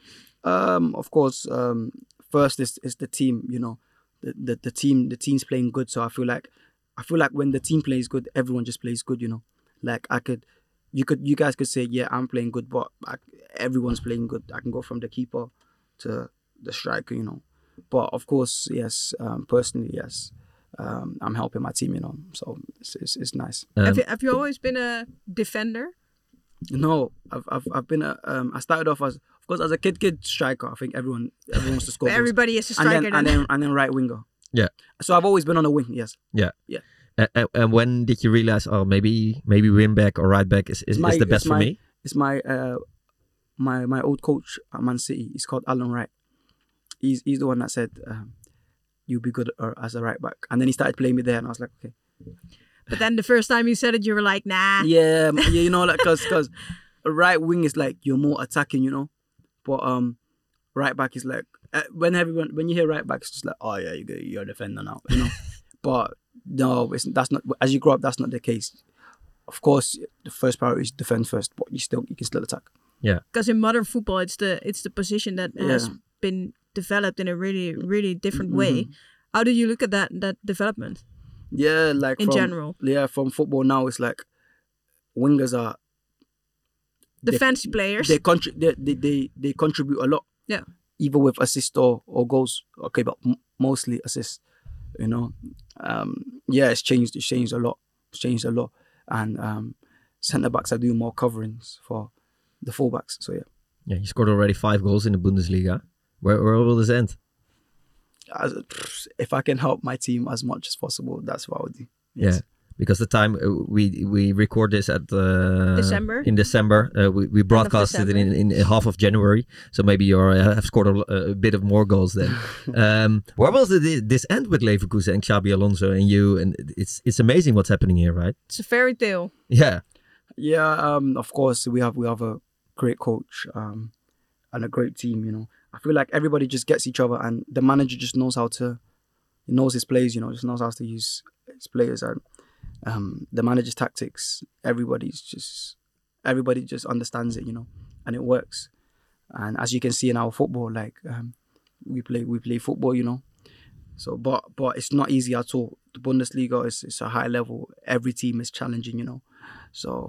Um, of course, um, first is is the team. You know, the, the the team the team's playing good, so I feel like I feel like when the team plays good, everyone just plays good. You know, like I could, you could, you guys could say, yeah, I'm playing good, but I, everyone's playing good. I can go from the keeper to the striker. You know, but of course, yes, um, personally, yes. Um, I'm helping my team, you know, so it's it's, it's nice. Um, have you have you always been a defender? No, I've I've I've been a um. I started off as, of course, as a kid kid striker. I think everyone everyone wants to score. Everybody is a striker. And then, and then and then right winger. Yeah. So I've always been on the wing. Yes. Yeah. Yeah. Uh, and, and when did you realize, oh, maybe maybe wing back or right back is, is, my, is the best for my, me? It's my uh my my old coach at Man City. He's called Alan Wright. He's he's the one that said, um, "You'll be good as a right back," and then he started playing me there, and I was like, okay. But then the first time you said it, you were like, nah. Yeah, yeah, you know, like because because a right wing is like you're more attacking, you know, but um, right back is like uh, when everyone when you hear right back, it's just like, oh yeah, you go, you're a defender now, you know. But no, it's, that's not. As you grow up, that's not the case. Of course, the first priority is defend first, but you still you can still attack. Yeah. Because in modern football, it's the it's the position that has Yeah. been developed in a really really different Mhm. way. How do you look at that that development? Yeah, like In from, general. Yeah, from football now, it's like wingers are The they- fancy players. They, contri- they, they they they contribute a lot. Yeah. Either with assist or, or goals. Okay, but m- mostly assists. You know, um, yeah, it's changed. It's changed a lot. It's changed a lot, and um, centre backs are doing more coverings for the fullbacks. So yeah, Yeah, you scored already five goals in the Bundesliga. Where where will this end? As, if I can help my team as much as possible, that's what I would do. Yeah, because the time uh, we we record this at uh, December. in December, uh, we we broadcasted it in, in half of January, so maybe you uh, have scored a, a bit of more goals then. um, where will the, this end with Leverkusen and Xabi Alonso and you? And it's it's amazing what's happening here, right? It's a fairy tale. Yeah, Yeah, um, of course we have we have a great coach um, and a great team. You know, I feel like everybody just gets each other, and the manager just knows how to, he knows his players. You know, just knows how to use his players, and um, the manager's tactics. Everybody's just everybody just understands it. You know, and it works. And as you can see in our football, like um, we play we play football. You know, so but but it's not easy at all. The Bundesliga is it's a high level. Every team is challenging. You know, so.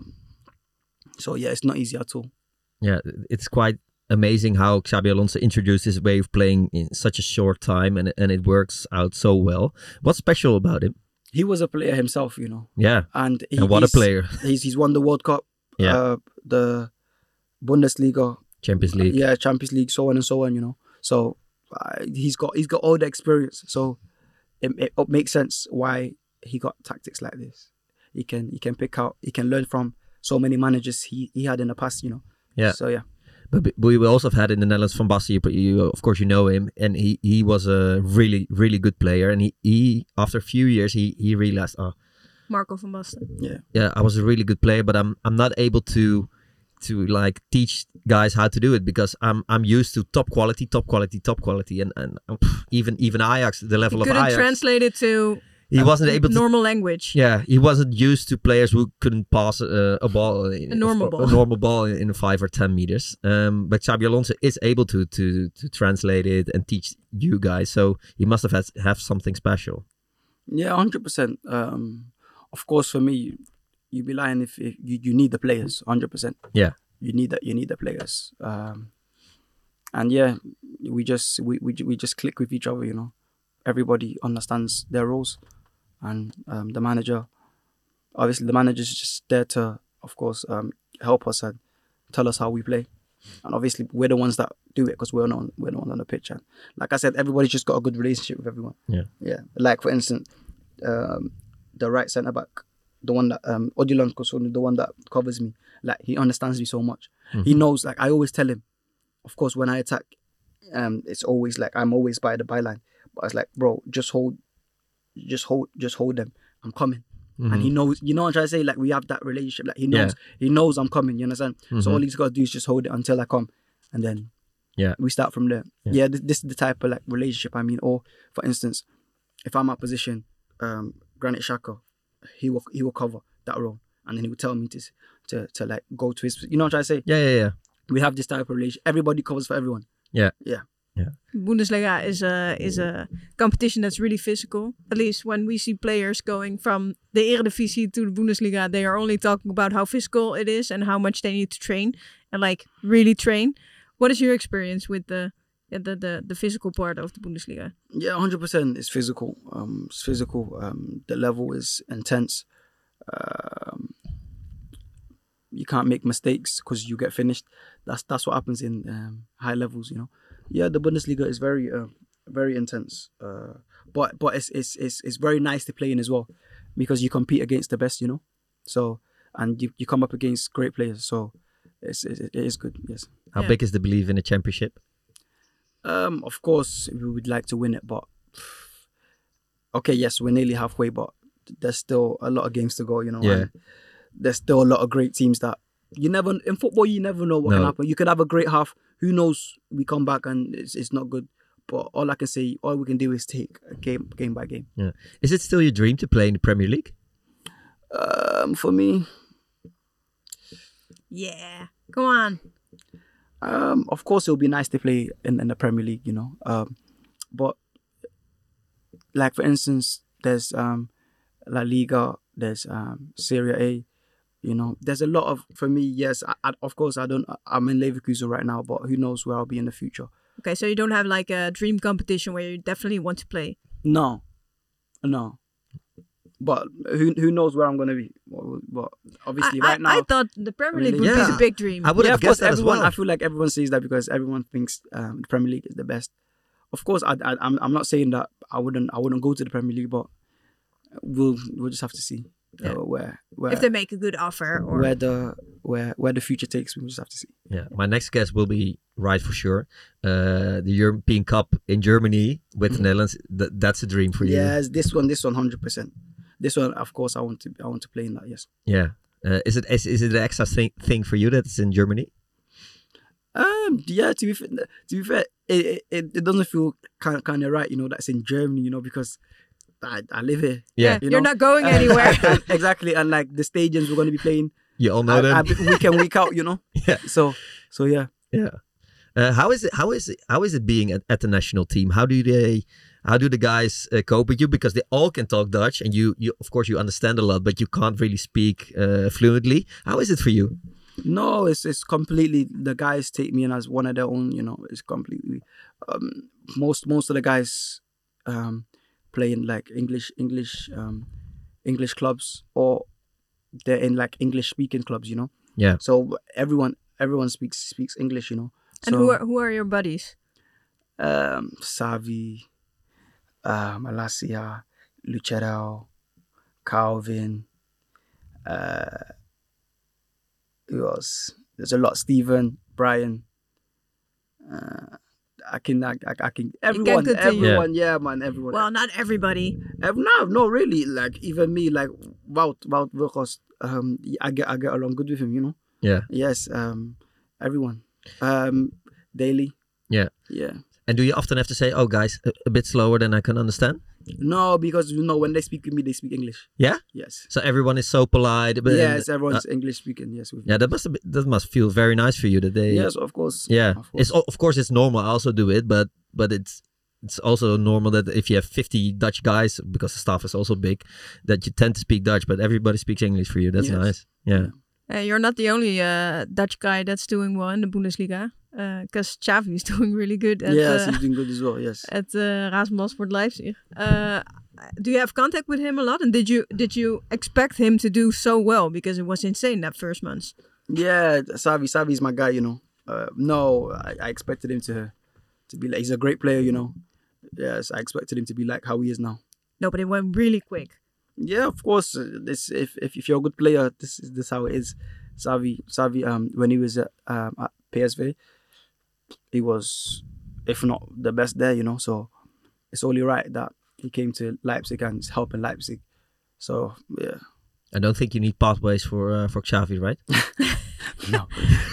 So yeah, it's not easy at all. yeah, it's quite amazing how Xabi Alonso introduced his way of playing in such a short time, and and it works out so well. What's special about him? He was a player himself, you know, Yeah, and, he, and what a he's- player! He's he's won the World Cup, Yeah. uh, the Bundesliga, Champions League. yeah, Champions League, so on and so on, you know. So uh, he's got he's got all the experience. So it, it, it makes sense why he got tactics like this. He can he can pick out, he can learn from so many managers he, he had in the past, you know. Yeah. So yeah. But but we also have had in the Netherlands Van Basten. You, you of course you know him, and he, he was a really really good player. And he, he after a few years he, he realized, oh Marco van Basten. Yeah. yeah, I was a really good player, but I'm I'm not able to to like teach guys how to do it because I'm I'm used to top quality, top quality, top quality, and and um, pff, even even Ajax, the level He of couldn't Ajax, translate it to he wasn't able to. normal language. Yeah, he wasn't used to players who couldn't pass uh, a ball, in, A normal a, ball. a normal ball in, in five or ten meters. Um, but Xabi Alonso is able to to to translate it and teach you guys. So he must have had have something special. Yeah, one hundred percent. Um, of course, for me, you'd be lying if, if you, you need the players, one hundred percent. Yeah. You need that. You need the players. Um, and yeah, we just we, we we just click with each other. You know, everybody understands their roles, and um, the manager, obviously, the manager's just there to, of course, um, help us and tell us how we play. And obviously, we're the ones that do it because we're not we're the ones on the pitch. And like I said, everybody's just got a good relationship with everyone. Yeah. Yeah. Like for instance, um, the right centre back, the one that um Odilon Kosunu, the one that covers me, like he understands me so much. Mm-hmm. He knows, like I always tell him, of course, when I attack, um, it's always like I'm always by the byline. But it's like, bro, just hold, just hold, just hold them. I'm coming. Mm-hmm. And he knows, you know what I'm trying to say? Like we have that relationship. Like he knows, he knows I'm coming. You understand? Mm-hmm. So all he's got to do is just hold it until I come, and then Yeah. we start from there. Yeah. Yeah, this, this is the type of like relationship I mean. Or for instance, if I'm at position, um, Granit Xhaka, he will he will cover that role, and then he will tell me to to to like go to his. You know what I'm trying to say? Yeah, yeah, yeah. We have this type of relationship. Everybody covers for everyone. Yeah. Yeah. Yeah. Bundesliga is a is a competition that's really physical. At least when we see players going from the Eredivisie to the Bundesliga, they are only talking about how physical it is and how much they need to train and like really train. What is your experience with the the the, the physical part of the Bundesliga? Yeah, one hundred percent. It's physical. Um, it's physical. Um, the level is intense. Um, you can't make mistakes because you get finished. That's that's what happens in um, high levels. You know. Yeah, the Bundesliga is very uh, very intense. Uh, but but it's, it's it's it's very nice to play in as well, because you compete against the best. You know. So and you, you come up against great players. So it's it, it is good. Yes. How Yeah. big is the belief in the championship? Um, of course, we would like to win it, but okay, yes, we're nearly halfway, but there's still a lot of games to go, you know. Yeah. And there's still a lot of great teams that you never in football. You never know what No. can happen. You could have a great half. Who knows? We come back and it's it's not good. But all I can say, all we can do is take a game game by game. Yeah. Is it still your dream to play in the Premier League? Um, for me, Yeah, come on. Um, of course, it would be nice to play in, in the Premier League, you know. Um, but like for instance, there's um, La Liga, there's um, Serie A. You know, there's a lot of for me. Yes, I, I, of course, I don't. I'm in Leverkusen right now, but who knows where I'll be in the future? Okay, so you don't have like a dream competition where you definitely want to play. No, no. But who who knows where I'm gonna be? But, but obviously, I, right I, now, I thought the Premier League would Yeah. be the big dream. I would yeah, have of course, guessed that as everyone. well. I feel like everyone says that because everyone thinks um, the Premier League is the best. Of course, I, I, I'm I'm not saying that I wouldn't I wouldn't go to the Premier League, but we'll we'll just have to see uh, Yeah. where where If they make a good offer, or where the where where the future takes me. We'll just have to see. Yeah, my next guess will be right for sure. Uh, the European Cup in Germany with the Netherlands. Th- that's a dream for you. Yes, this one, this one, hundred percent. This one, of course, I want to I want to play in that. Yes. Yeah. Uh, is it is, is it an extra thing, thing for you that it's in Germany? Um. Yeah. To be fair, to be fair, it it, it doesn't feel kind of kind of right. You know, that's in Germany. You know, because I I live here. yeah, you you're know? not going And- anywhere. and- exactly, and like the stadiums we're going to be playing. You all know I, them. I, week in, week out, you know. Yeah. So, so yeah. Yeah. Uh, how is it? How is it? How is it being at, at the national team? How do they? How do the guys uh, cope with you? Because they all can talk Dutch, and you, you of course, you understand a lot, but you can't really speak uh, fluently. How is it for you? No, it's it's completely. The guys take me in as one of their own. You know, it's completely. Um, most most of the guys, um, play in like English English um, English clubs, or they're in like English speaking clubs. You know. Yeah. So everyone everyone speaks speaks English. You know. And so, who are who are your buddies? um, Savi, uh, Malasia, Lucero, Calvin, uh, who else? There's a lot. Steven, Brian. Uh, I can, I, I, I can. Everyone, continue. everyone, yeah. man, everyone. Well, not everybody. Ev- no, no, really. Like even me, like Wout, Wout Weghorst, um, I get, I get along good with him. You know. Yeah. Yes. Um, everyone. Um, Daily. Yeah. Yeah. And do you often have to say, "Oh, guys, a, a bit slower than I can understand"? No, because you know when they speak with me, they speak English. Yeah. Yes. So everyone is so polite. But, yes, uh, everyone's English speaking. Yes. With me. yeah, that must be, that must feel very nice for you that they. Yes, of course. Yeah, Of course. it's o- of course it's normal. I also do it, but but it's it's also normal that if you have fifty Dutch guys, because the staff is also big, that you tend to speak Dutch, but everybody speaks English for you. That's Yes. nice. Yeah. Uh, you're not the only uh, Dutch guy that's doing well in the Bundesliga, because uh, Xavi is doing really good at yes, uh, he's doing good as well. Yes. at uh, Rasenballsport Leipzig. Uh, do you have contact with him a lot? And did you did you expect him to do so well? Because it was insane that first month. Yeah, Savi, Savi's my guy. You know. Uh, no, I, I expected him to to be like he's a great player. You know. Yes, I expected him to be like how he is now. No, but it went really quick. Yeah, of course. uh, This if if, if you're a good player, this is this how it is. Savi, Savi, um, when he was at, um, at P S V, he was, if not the best there, you know. So it's only right that he came to Leipzig and is helping Leipzig. So yeah, I don't think you need pathways for uh, for Xavi, right? no,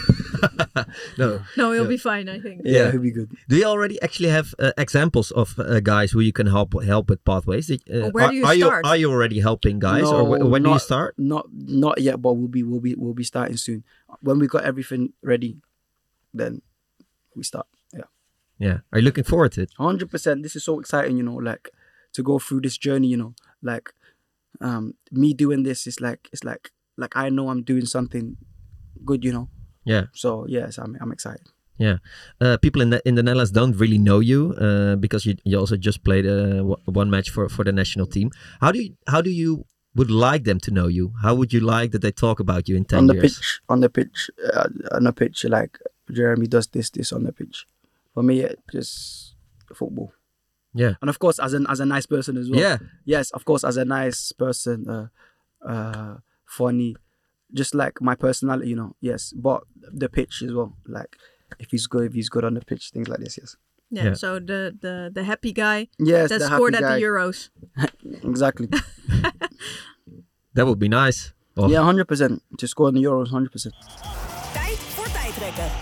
No. No, he'll Yeah. be fine, I think. yeah, Yeah. he'll be good. Do you already actually have uh, examples of uh, guys who you can help help with pathways? Did- Uh, Or where are, do you are start? You, are you already helping guys, or No, wh- when do you not- start? Not not yet, but we'll be we'll be we'll be starting soon. When we got everything ready, then we start. Yeah. Yeah. Are you looking forward to it? one hundred percent. This is so exciting, you know, like to go through this journey, you know, like um, me doing this is like, it's like, like I know I'm doing something good, you know. Yeah. So yes, I'm, I'm excited. Yeah. Uh, people in the in the Netherlands don't really know you uh, because you you also just played uh, w- one match for, for the national team. How do you how do you would like them to know you? How would you like that they talk about you in ten on the years? pitch, on the pitch, uh, on the pitch, like Jeremy does this, this on the pitch. For me, it just football. Yeah. And of course, as an as a nice person as well. Yeah. Yes, of course, as a nice person, uh, uh, funny, just like my personality, you know. Yes, but the pitch as well. Like if he's good, if he's good on the pitch, things like this. Yes. Yeah, Yeah. so the, the, the happy guy Yes, that the scored happy at guy. the Euros. Exactly. That would be nice. Oh, Yeah, hundred percent. To score in the Euros, hundred percent. Tijd voor tijdrekken.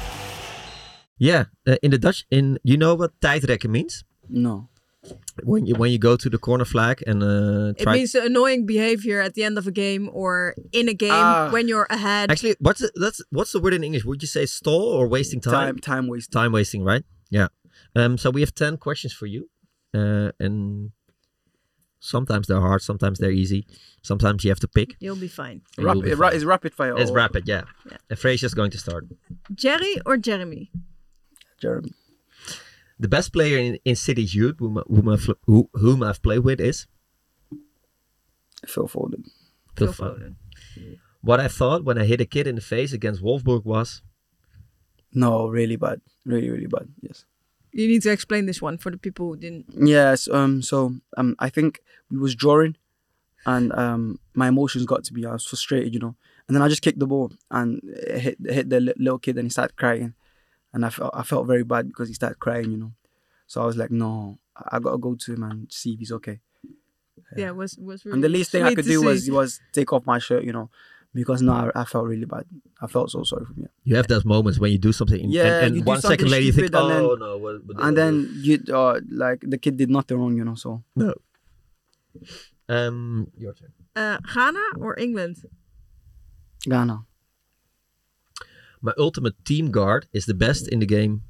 yeah. Uh, in the Dutch, in you know what tijdrekken means? No. When you when you go to the corner flag and uh, It try. means the annoying behavior at the end of a game or in a game Ah. when you're ahead. Actually, what's the, that's what's the word in English? Would you say stall or wasting time? Time, time waste. Time wasting, right? Yeah. Um. So we have ten questions for you, uh, and sometimes they're hard, sometimes they're easy, sometimes you have to pick. You'll be fine. and you'll be Rapid, ra- fine. is rapid fire. It's or- rapid, yeah. Yeah. And Fraser's going to start. Jerry or Jeremy? Jeremy. The best player in, in City's youth, whom, whom, I've, who, whom I've played with, is Phil Foden. Phil Phil Foden. What I thought when I hit a kid in the face against Wolfsburg was No, really bad. Really, really bad. Yes. You need to explain this one for the people who didn't. Yes. Um. So um, I think we was drawing, and um, my emotions got to me. I was frustrated, you know. And then I just kicked the ball and it hit hit the li- little kid, and he started crying, and I felt I felt very bad because he started crying, you know. So I was like, no, I I gotta go to him and see if he's okay. Yeah, it was was really And the least thing I sweet could to do was see. was take off my shirt, you know, because no, I, I felt really bad. I felt so sorry for me. you have those moments when you do something and, Yeah, and you do one second something later you think, stupid and oh then- no. What, what did I And do?" then you uh, like the kid did nothing wrong, you know. So No. Um, your turn. Uh, Ghana or England? Ghana. My ultimate team guard is the best in the game.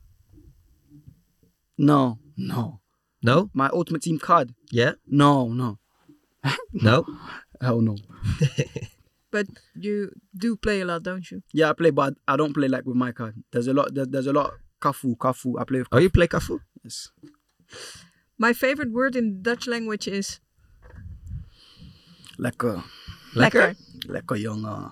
No, no. No? My ultimate team card. Yeah? No, no. No? Hell no. But you do play a lot, don't you? Yeah, I play, but I don't play like with my card. There's a lot. There, there's a lot. Kafu, Kafu. I play with. Oh, you play Cafu? Yes. My favorite word in Dutch language is Lekker. Lekker? Lekker jongen.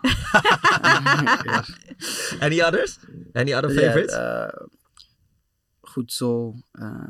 Any others? Any other Yeah, favorites? uh, goed zo. Uh,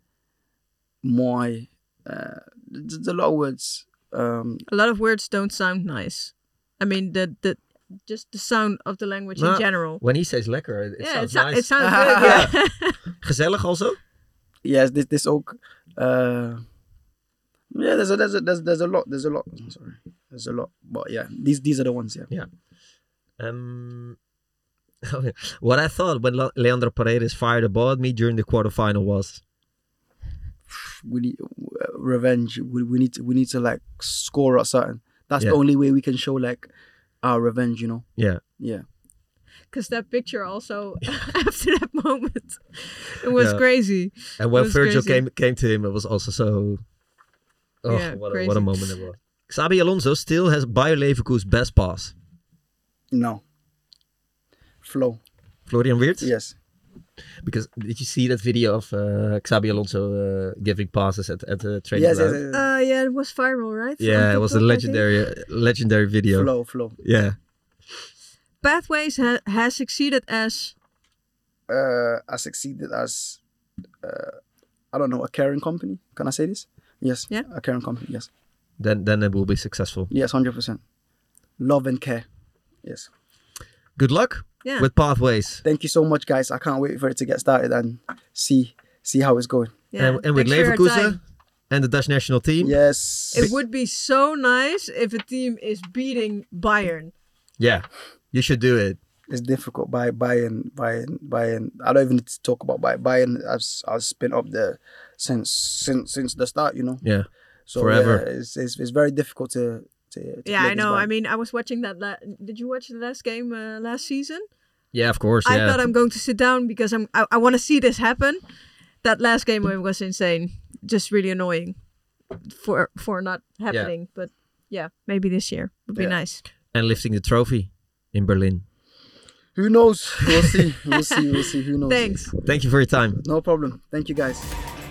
mooi. Uh, there's a lot of words. Um, A lot of words don't sound nice. I mean, the the just the sound of the language No, in general. When he says lekker, it, it yeah, it, sounds sou- nice. it sounds good. Yeah. Gezellig also? yes, this this ook. Uh, yeah, there's a there's a there's, there's a lot. There's a lot. Sorry, there's a lot. But yeah, these these are the ones. Yeah. Yeah. Um, what I thought when Le- Leandro Paredes fired a ball at me during the quarterfinal was We need uh, revenge. We, we need to we need to like score or something. That's Yeah. the only way we can show like our revenge. You know. yeah. Yeah. Because that picture also after that moment, it was Yeah. crazy. And when was Virgil crazy. came came to him, it was also so. Oh, Yeah, what, a, crazy. what a moment it was. Xabi Alonso still has Bayer Leverkusen's best pass. No. Flow. Florian Wirtz? Yes. Because did you see that video of uh, Xabi Alonso uh, giving passes at, at the training Yes. Yes. ground? yes. Uh, yeah, it was viral, right? On Yeah, it was a TikTok, I think. legendary, uh, legendary video. Flow. Flow. Yeah. Pathways ha- has succeeded as Uh, I succeeded as uh, I don't know, a caring company. Can I say this? Yes. Yeah. A caring company. Yes. Then then it will be successful. Yes. Hundred percent. Love and care. Yes. Good luck yeah. with Pathways. Thank you so much, guys. I can't wait for it to get started and see see how it's going. yeah. and, and with Thanks for your Leverkusen time. and the Dutch national team. Yes. It would be so nice if a team is beating Bayern. Yeah, you should do it. It's difficult. By Bayern, Bayern, Bayern. I don't even need to talk about Bayern. Bayern. I've I've been up there since since since the start. You know. Yeah. So Forever. yeah, it's, it's it's very difficult to to. to Yeah, play I this know. Bayern. I mean, I was watching that. La- Did you watch the last game uh, last season? Yeah, of course. I yeah. thought I'm going to sit down because I'm I, I want to see this happen. That last game was insane. Just really annoying for for not happening. Yeah. But yeah, maybe this year would be Yeah. nice. And lifting the trophy in Berlin. Who knows? We'll see. We'll see. We'll see. Who knows? Thanks. Thank you for your time. No problem. Thank you, guys.